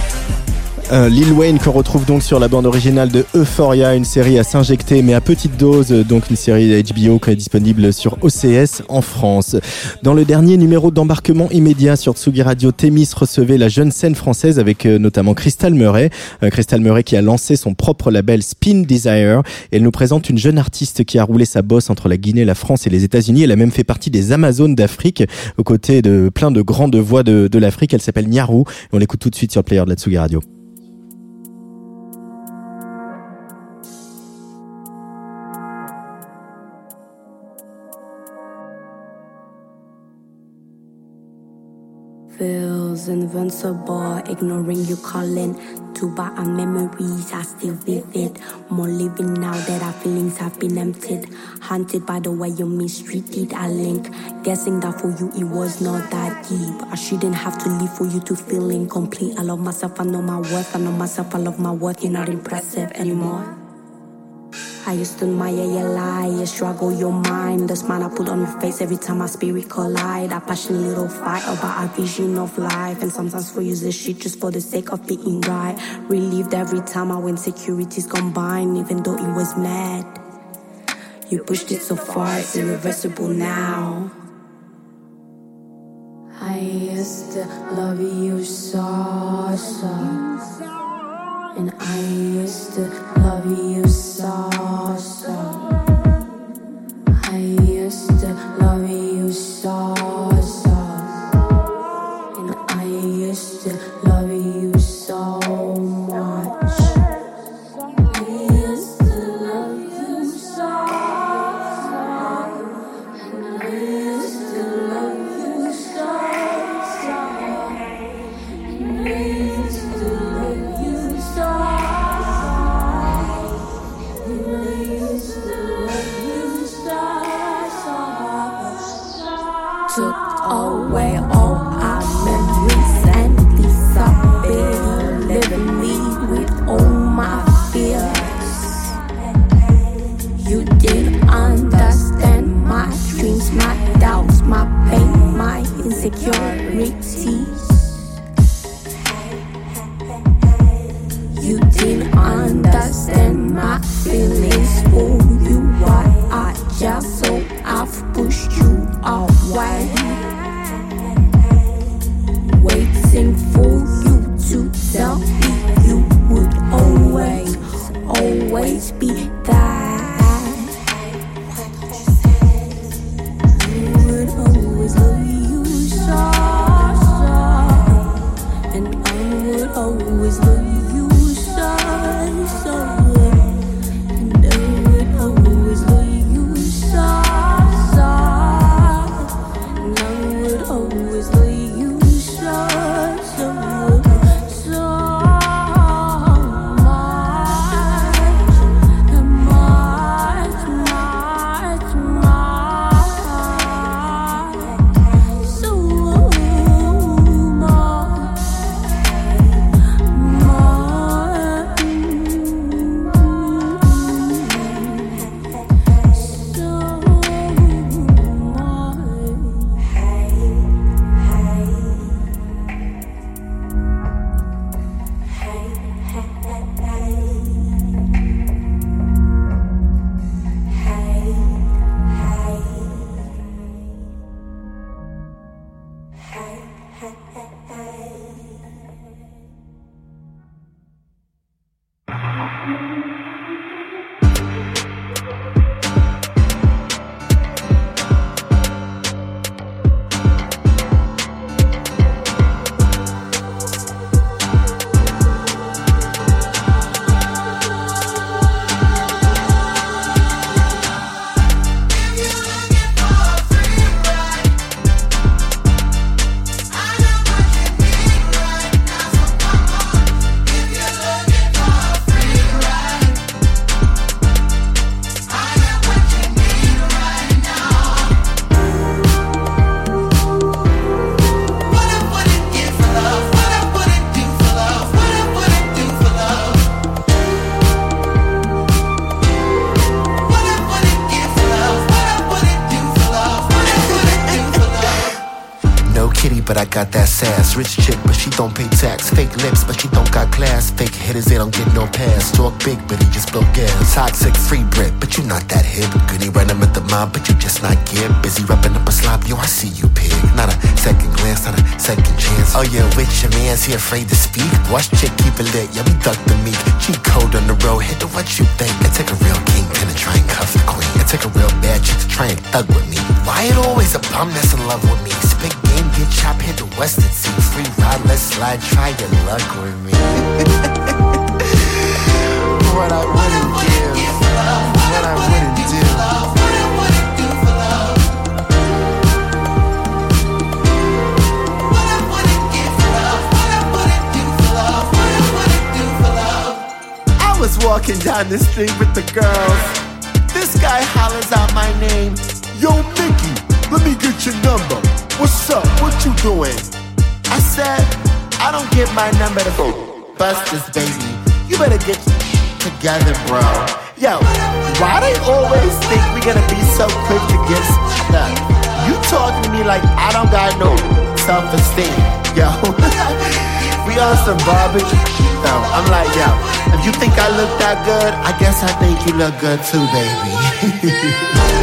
my daddy. Lil Wayne qu'on retrouve donc sur la bande originale de Euphoria, une série à s'injecter mais à petite dose, donc une série HBO qui est disponible sur OCS en France. Dans le dernier numéro d'embarquement immédiat sur Tsugi Radio, Thémis recevait la jeune scène française avec notamment Crystal Murray. Crystal Murray qui a lancé son propre label Spin Desire, et elle nous présente une jeune artiste qui a roulé sa bosse entre la Guinée, la France et les États-Unis. Elle a même fait partie des Amazones d'Afrique aux côtés de plein de grandes voix de l'Afrique. Elle s'appelle Nyaru et on l'écoute tout de suite sur le player de la Tsugi Radio. Feels invincible, ignoring you calling. To by our memories are still vivid. More living now that our feelings have been emptied. Haunted by the way you mistreated our link. Guessing that for you it was not that deep. I shouldn't have to live for you to feel incomplete. I love myself, I know my worth. I know myself, I love my worth. You're not impressive anymore. I used to admire your lie, your struggle, your mind. The smile I put on your face every time our spirit collide. Our passionate little fight about our vision of life. And sometimes we use this shit just for the sake of being right. Relieved every time our insecurities combine, even though it was mad. You pushed it so far, it's irreversible now. I used to love you so. And I used to love you so. I used to love you so. And I used to love you so much. I used to love you so. And I used to love you so. always be that. I would always love you so, and I would always love you so, and I would always love you so, and I would always love you so much. But I got that sass. Rich chick, but she don't pay tax. Fake lips, but she don't got class. Fake hitters, they don't get no pass. Talk big, but he just blow gas. Toxic, free Brit, but you not that hip. Goody running with the mob, but you just not give. Busy wrapping up a slop, yo, I see you, pig. Not a second glance, not a second chance. Oh yeah, with your man's he afraid to speak. Watch chick, keep it lit, yeah, we duck the meek. Cheat code on the road, hit the what you think. It take a real kingpin to try and cuff the queen. It take a real bad chick to try and thug with me. Why it always a bum that's in love with me? Spit game, get chopped, hit the Western Sea. Free ride, let's slide, try your luck with me. What I wouldn't give, what I wouldn't do. I was walking down the street with the girls. This guy hollers out my name. Yo, Mickey, let me get your number. What's up? What you doing? I said, I don't give my number to bust this baby. You better get together, bro. Yo, why they always think we gonna be so quick to get stuck? You talking to me like I don't got no self-esteem. Yo, we on some barbecue. No, I'm like, yo, if you think I look that good, I guess I think you look good too, baby.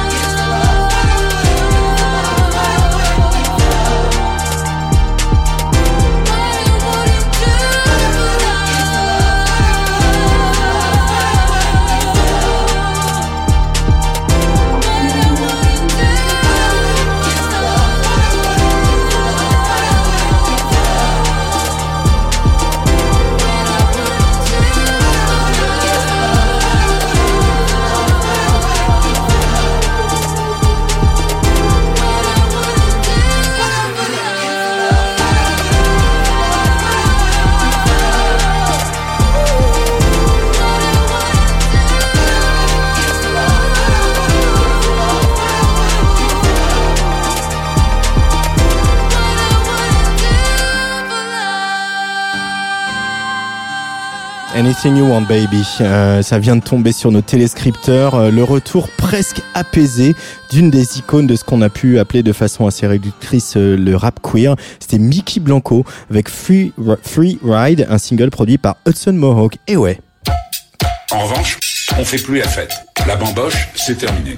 Anything You Want Baby, ça vient de tomber sur nos téléscripteurs, le retour presque apaisé d'une des icônes de ce qu'on a pu appeler de façon assez réductrice le rap queer. C'était Mickey Blanco avec Free Ride, un single produit par Hudson Mohawke. Et ouais. En revanche, on fait plus la fête. La bamboche, c'est terminé.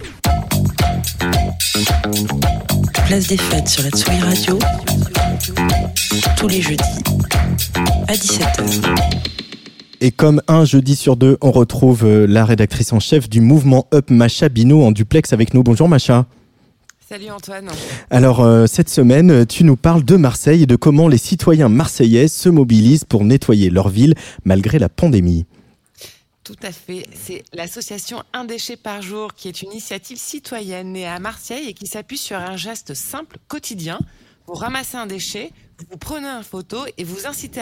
Place des fêtes sur la Tsugi Radio, tous les jeudis à 17h. Et comme un jeudi sur deux, on retrouve la rédactrice en chef du mouvement Up, Macha Bino, en duplex avec nous. Bonjour Macha. Salut Antoine. Alors cette semaine, tu nous parles de Marseille et de comment les citoyens marseillais se mobilisent pour nettoyer leur ville malgré la pandémie. Tout à fait. C'est l'association Un déchet par jour qui est une initiative citoyenne née à Marseille et qui s'appuie sur un geste simple, quotidien. Vous ramassez un déchet, vous prenez une photo et vous incitez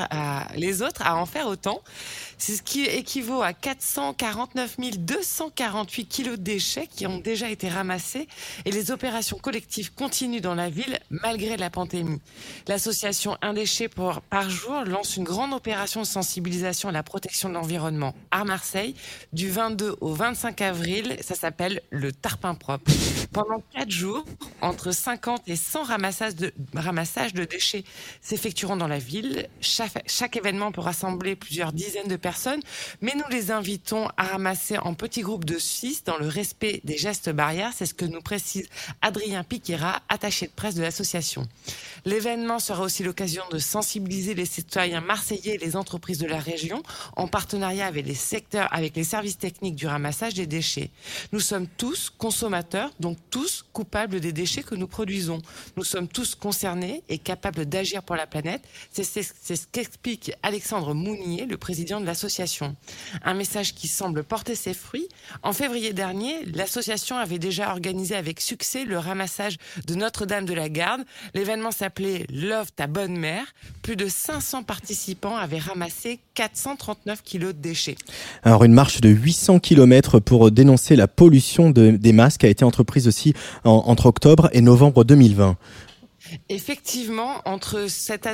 les autres à en faire autant. C'est ce qui équivaut à 449 248 kilos de déchets qui ont déjà été ramassés et les opérations collectives continuent dans la ville malgré la pandémie. L'association Un déchet par jour lance une grande opération de sensibilisation à la protection de l'environnement à Marseille du 22 au 25 avril. Ça s'appelle le Tarpin Propre. Pendant 4 jours, entre 50 et 100 ramassages de déchets s'effectueront dans la ville. Chaque événement peut rassembler plusieurs dizaines de personnes, mais nous les invitons à ramasser en petits groupes de 6 dans le respect des gestes barrières. C'est ce que nous précise Adrien Piquera, attaché de presse de l'association. L'événement sera aussi l'occasion de sensibiliser les citoyens marseillais et les entreprises de la région en partenariat avec les services techniques du ramassage des déchets. Nous sommes tous consommateurs, donc tous coupables des déchets que nous produisons. Nous sommes tous concernés et capables d'agir pour la planète. C'est ce qu'explique Alexandre Mounier, le président de l'association. Un message qui semble porter ses fruits. En février dernier, l'association avait déjà organisé avec succès le ramassage de Notre-Dame de la Garde. L'événement s'appelait Love ta bonne mère. Plus de 500 participants avaient ramassé 439 kilos de déchets. Alors une marche de 800 km pour dénoncer la pollution des masques a été entreprise aussi entre octobre et novembre 2020. Effectivement, entre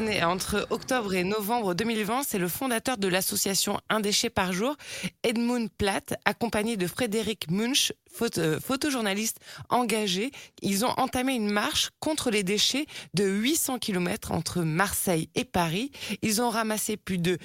octobre et novembre 2020, c'est le fondateur de l'association Un déchet par jour, Edmund Platt, accompagné de Frédéric Munch, photojournaliste engagé. Ils ont entamé une marche contre les déchets de 800 km entre Marseille et Paris. Ils ont ramassé plus de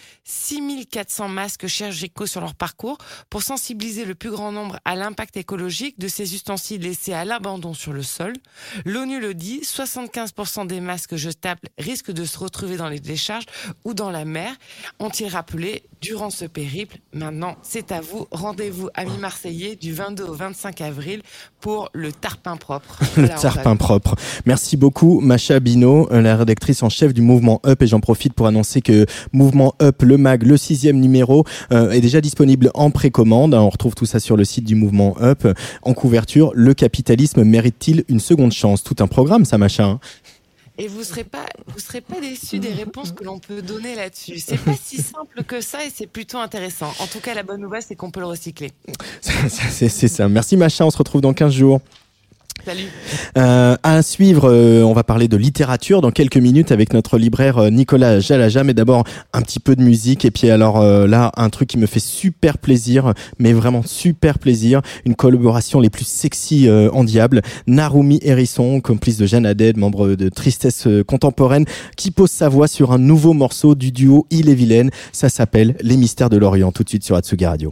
6400 masques chirurgicaux sur leur parcours pour sensibiliser le plus grand nombre à l'impact écologique de ces ustensiles laissés à l'abandon sur le sol. L'ONU le dit, 75% des masques jetables risquent de se retrouver dans les décharges ou dans la mer. Ont-ils rappelé durant ce périple? Maintenant, c'est à vous. Rendez-vous, amis marseillais, du 22 au 25 avril pour le Tarpin Propre. Le Tarpin Propre. Merci beaucoup, Macha Bino, la rédactrice en chef du mouvement Up. Et j'en profite pour annoncer que Mouvement Up, le mag, le 6e numéro, est déjà disponible en précommande. On retrouve tout ça sur le site du mouvement Up. En couverture, le capitalisme mérite-t-il une seconde chance? Tout un programme, ça, Macha, hein. Et vous serez pas déçus des réponses que l'on peut donner là-dessus. C'est pas si simple que ça et c'est plutôt intéressant. En tout cas, la bonne nouvelle, c'est qu'on peut le recycler. C'est ça. Merci Macha, on se retrouve dans 15 jours. Salut. À suivre, on va parler de littérature dans quelques minutes avec notre libraire Nicolas Jalaja, mais d'abord un petit peu de musique et puis alors là un truc qui me fait super plaisir, mais vraiment super plaisir, une collaboration les plus sexy en diable. Narumi Hérisson, complice de Jeanne Haddad, membre de Tristesse Contemporaine, qui pose sa voix sur un nouveau morceau du duo Ille-et-Vilaine. Ça s'appelle Les Mystères de l'Orient, tout de suite sur Atsugi Radio.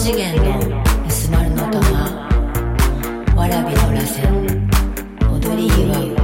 次元のスマルの玉わらびの螺旋踊り祝う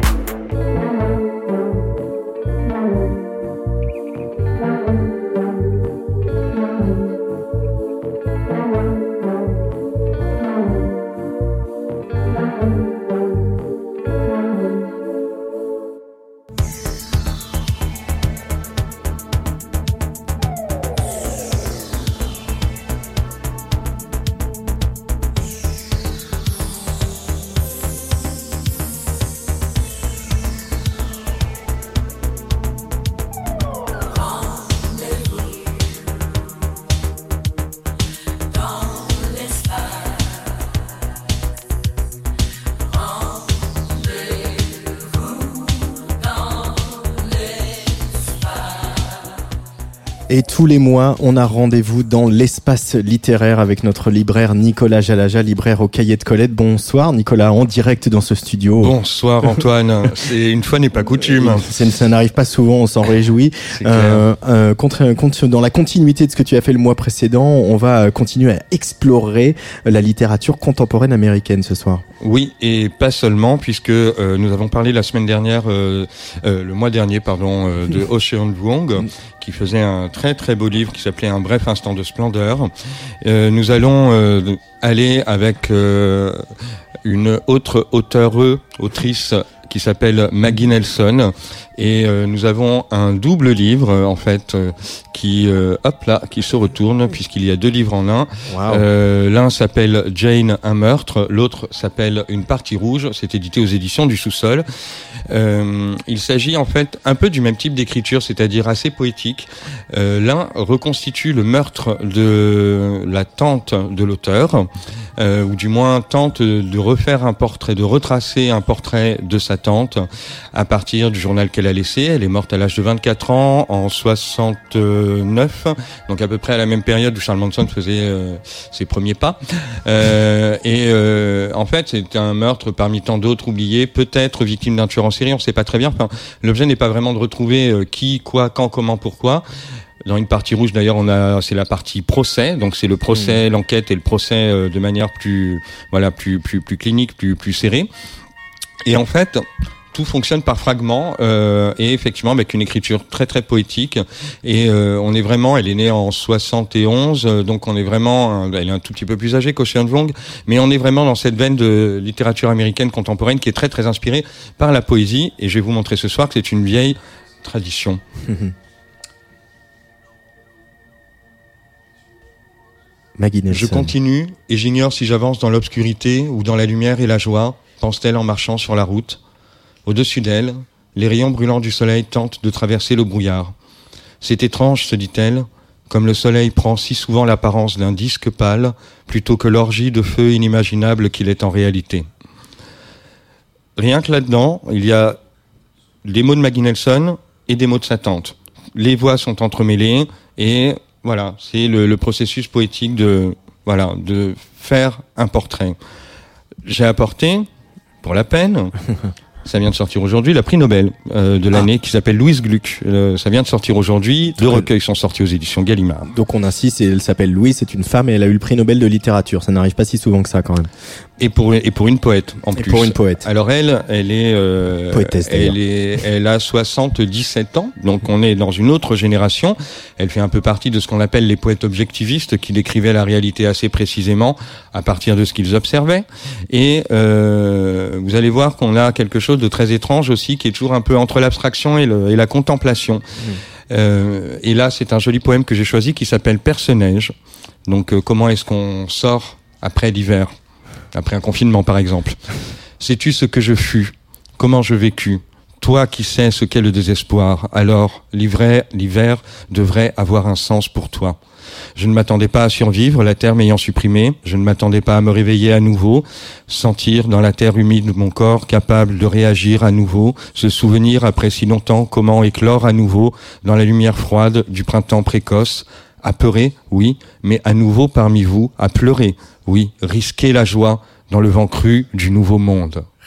Et tous les mois, on a rendez-vous dans l'espace littéraire avec notre libraire Nicolas Jalaja, libraire au Cahier de Colette. Bonsoir Nicolas, en direct dans ce studio. Bonsoir Antoine, c'est une fois n'est pas coutume. Ça n'arrive pas souvent, on s'en réjouit. Dans la continuité de ce que tu as fait le mois précédent, on va continuer à explorer la littérature contemporaine américaine ce soir. Oui, et pas seulement, puisque nous avons parlé la semaine dernière, le mois dernier, de Ocean Vuong, qui faisait un très très beau livre qui s'appelait Un bref instant de splendeur. Nous allons aller avec une autre autrice qui s'appelle Maggie Nelson, et nous avons un double livre en fait qui se retourne puisqu'il y a 2 livres en un. Wow. L'un s'appelle Jane, un meurtre, l'autre s'appelle Une partie rouge. C'est édité aux éditions du Sous-sol. Il s'agit en fait un peu du même type d'écriture, c'est-à-dire assez poétique. L'un reconstitue le meurtre de la tante de l'auteur, ou du moins tente de refaire un portrait, de retracer un portrait de sa tante à partir du journal qu'elle a laissé. Elle est morte à l'âge de 24 ans en 69, donc à peu près à la même période où Charles Manson faisait ses premiers pas. En fait, c'est un meurtre parmi tant d'autres oubliés, peut-être victime d'un tueur en série, on ne sait pas très bien. Enfin, l'objet n'est pas vraiment de retrouver qui, quoi, quand, comment, pourquoi. Dans Une partie rouge, d'ailleurs, c'est la partie procès, donc c'est le procès, l'enquête et le procès de manière plus clinique, plus serrée. Et en fait, tout fonctionne par fragments, et effectivement avec une écriture très très poétique. Et elle est née en 71, donc elle est un tout petit peu plus âgée qu'Ocean Vuong, mais on est vraiment dans cette veine de littérature américaine contemporaine qui est très très inspirée par la poésie. Et je vais vous montrer ce soir que c'est une vieille tradition. Je continue et j'ignore si j'avance dans l'obscurité ou dans la lumière et la joie, pense-t-elle en marchant sur la route. Au-dessus d'elle, les rayons brûlants du soleil tentent de traverser le brouillard. C'est étrange, se dit-elle, comme le soleil prend si souvent l'apparence d'un disque pâle plutôt que l'orgie de feu inimaginable qu'il est en réalité. Rien que là-dedans, il y a des mots de Maggie Nelson et des mots de sa tante. Les voix sont entremêlées et voilà, c'est le processus poétique de faire un portrait. J'ai apporté, pour la peine, ça vient de sortir aujourd'hui, la prix Nobel de l'année qui s'appelle Louise Gluck. Ça vient de sortir aujourd'hui. 2 recueils sont sortis aux éditions Gallimard. Donc on insiste, elle s'appelle Louise, c'est une femme et elle a eu le prix Nobel de littérature. Ça n'arrive pas si souvent que ça quand même. Et pour une poète en plus. Pour une poète. Alors elle est poétesse, elle a 77 ans, donc on est dans une autre génération. Elle fait un peu partie de ce qu'on appelle les poètes objectivistes qui décrivaient la réalité assez précisément à partir de ce qu'ils observaient. Et vous allez voir qu'on a quelque chose de très étrange aussi qui est toujours un peu entre l'abstraction et la contemplation. Et là, c'est un joli poème que j'ai choisi qui s'appelle Perce-neige. Donc comment est-ce qu'on sort après l'hiver? Après un confinement, par exemple. Sais-tu ce que je fus? Comment je vécus? Toi qui sais ce qu'est le désespoir, alors l'hiver devrait avoir un sens pour toi. Je ne m'attendais pas à survivre, la terre m'ayant supprimé. Je ne m'attendais pas à me réveiller à nouveau, sentir dans la terre humide mon corps capable de réagir à nouveau, se souvenir après si longtemps comment éclore à nouveau dans la lumière froide du printemps précoce. Apeuré, oui, mais à nouveau parmi vous, à pleurer, oui, risquer la joie dans le vent cru du nouveau monde.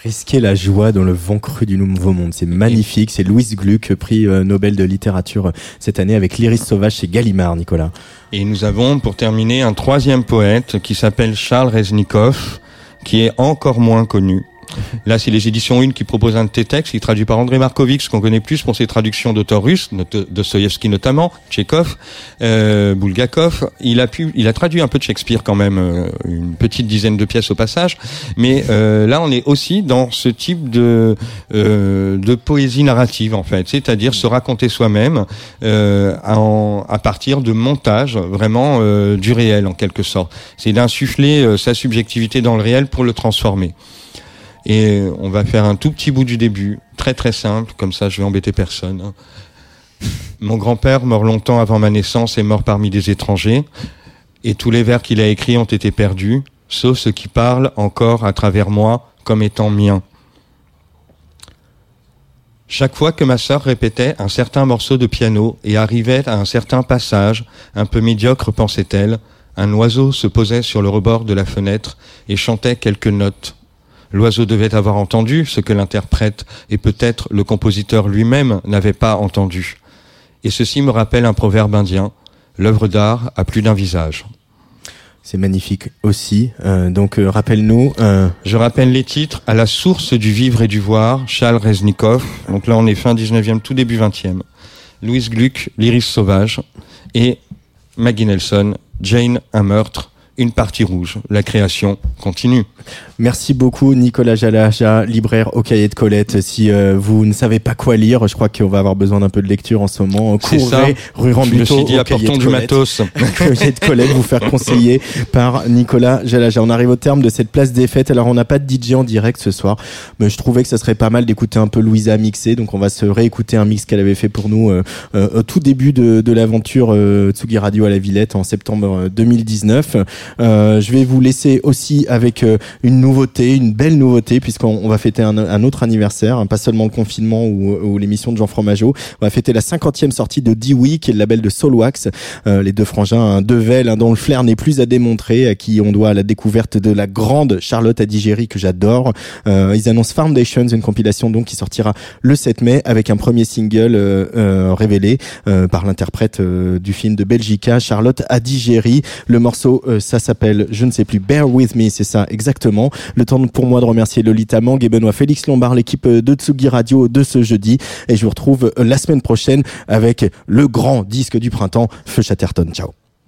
Risquer la joie dans le vent cru du Nouveau Monde, c'est magnifique. C'est Louise Gluck, prix Nobel de littérature cette année avec l'Iris sauvage chez Gallimard, Nicolas. Et nous avons pour terminer un troisième poète qui s'appelle Charles Reznikov, qui est encore moins connu. Là, c'est les éditions Une qui proposent un de tes textes, il est traduit par André Markovitch, qu'on connaît plus pour ses traductions d'auteurs russes, Dostoïevski notamment, Tchekhov, Bulgakov. Il a traduit un peu de Shakespeare quand même, une petite dizaine de pièces au passage. Mais là, on est aussi dans ce type de poésie narrative en fait, c'est-à-dire se raconter soi-même à partir de montages vraiment du réel en quelque sorte. C'est d'insuffler sa subjectivité dans le réel pour le transformer. Et on va faire un tout petit bout du début, très très simple, comme ça je vais embêter personne. Mon grand-père, mort longtemps avant ma naissance, est mort parmi des étrangers, et tous les vers qu'il a écrits ont été perdus, sauf ceux qui parlent encore à travers moi comme étant miens. Chaque fois que ma sœur répétait un certain morceau de piano et arrivait à un certain passage, un peu médiocre pensait-elle, un oiseau se posait sur le rebord de la fenêtre et chantait quelques notes. L'oiseau devait avoir entendu ce que l'interprète et peut-être le compositeur lui-même n'avait pas entendu. Et ceci me rappelle un proverbe indien, l'œuvre d'art a plus d'un visage. C'est magnifique aussi. Donc rappelle-nous. Je rappelle les titres. À la source du vivre et du voir, Charles Reznikov. Donc là on est fin 19e, tout début 20e. Louise Gluck, l'Iris sauvage. Et Maggie Nelson, Jane, un meurtre. Une partie rouge. La création continue. Merci beaucoup Nicolas Jalaja, libraire au Cahier de Colette. Si vous ne savez pas quoi lire, je crois qu'on va avoir besoin d'un peu de lecture en ce moment. Courez rue Rambuteau. Je me suis dit, apportons du matos. Cahier de Colette, vous faire conseiller par Nicolas Jalaja. On arrive au terme de cette place des fêtes. Alors on n'a pas de DJ en direct ce soir, mais je trouvais que ça serait pas mal d'écouter un peu Louisa mixer. Donc on va se réécouter un mix qu'elle avait fait pour nous au tout début de l'aventure Tsugi Radio à la Villette en septembre 2019. Je vais vous laisser aussi avec une belle nouveauté, puisqu'on va fêter un autre anniversaire, hein, pas seulement le confinement ou l'émission de Jean Fromageau. On va fêter la 50e sortie de Dewey, qui est le label de Soulwax, les deux frangins, Devel, dont le flair n'est plus à démontrer, à qui on doit la découverte de la grande Charlotte Adigéry que j'adore. Ils annoncent Foundations, une compilation donc qui sortira le 7 mai avec un premier single révélé par l'interprète du film de Belgica, Charlotte Adigéry. Le morceau, ça s'appelle, je ne sais plus, Bear With Me, c'est ça exactement. Le temps pour moi de remercier Lolita Mang et Benoît Félix Lombard, l'équipe de Tsugi Radio de ce jeudi, et je vous retrouve la semaine prochaine avec le grand disque du printemps, Feu Chatterton. Ciao.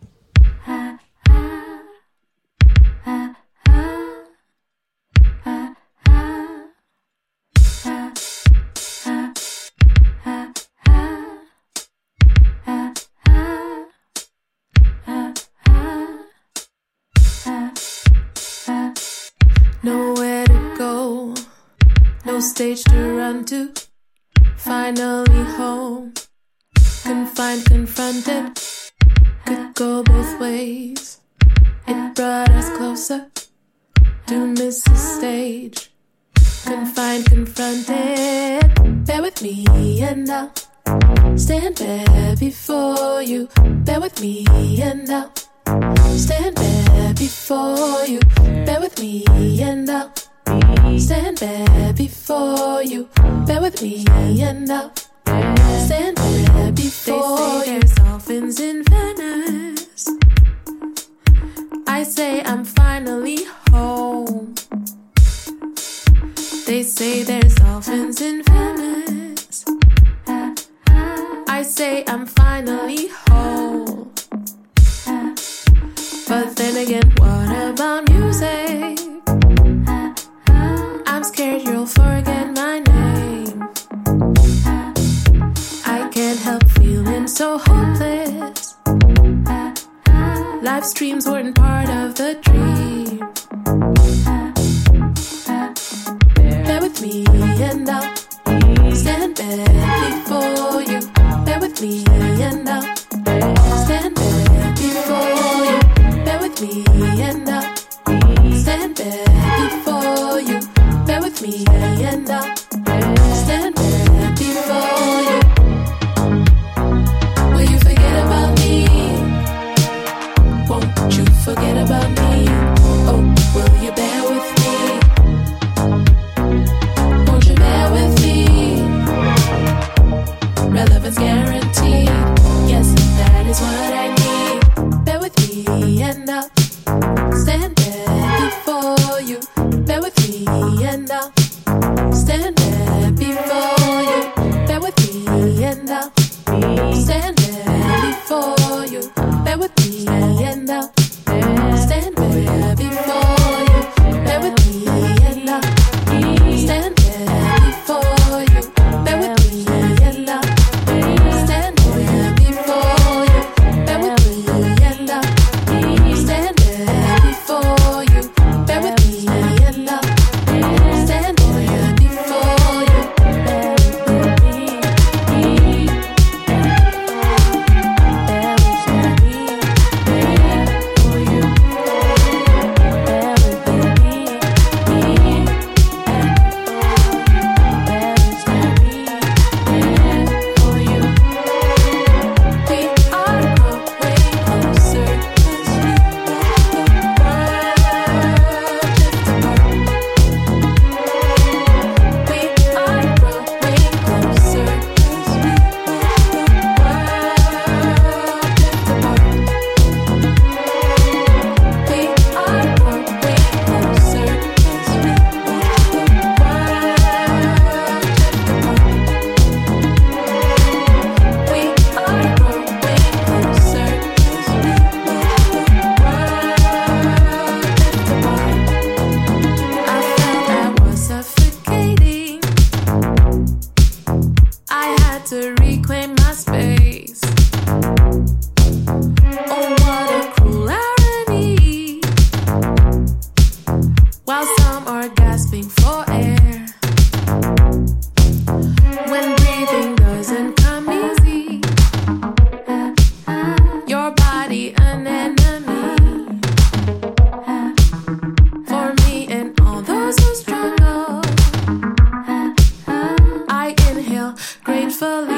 Nowhere to go, no stage to run to, finally home, confined, confronted, could go both ways, it brought us closer, to miss the stage, confined, confronted, bear with me and I'll stand there before you, bear with me and I'll stand there before you, bear with me and I'll stand there before you, bear with me and I'll stand there before you. They say there's dolphins in Venice, I say I'm finally home. They say there's dolphins in Venice, I say I'm finally home. But then again, what about music? I'm scared you'll forget my name. I can't help feeling so hopeless. Life's dreams weren't part of the dream. Bear with me and I'll stand there before you. Bear with me and I'll stand there before you. Bear with me and I'll stand there before you. Bear with me and I'll stand there before you. Will you forget about me? Won't you forget about me? Oh, will you bear with me? and I'll stand there before you. Bear with me and I'll stand there before you. Bear with me and I'll stand there before you. Bear with me and I'll stand there before you. Bear with me and I'll stand there before you. Bear with me and I'll stand there before you. Bear with me and I'll stand there before you. Bear with me and I'll stand there before you. To reclaim my space. Oh, what a cruel irony. While some are gasping for air, when breathing doesn't come easy, your body an enemy. For me and all those who struggle, I inhale gratefully.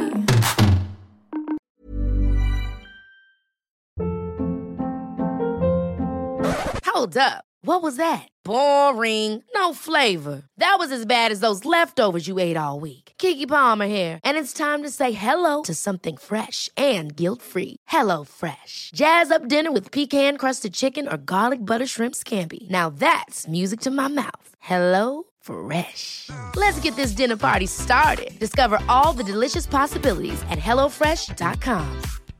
Hold up. What was that? Boring. No flavor. That was as bad as those leftovers you ate all week. Keke Palmer here, and it's time to say hello to something fresh and guilt-free. Hello Fresh. Jazz up dinner with pecan-crusted chicken or garlic butter shrimp scampi. Now that's music to my mouth. Hello Fresh. Let's get this dinner party started. Discover all the delicious possibilities at HelloFresh.com.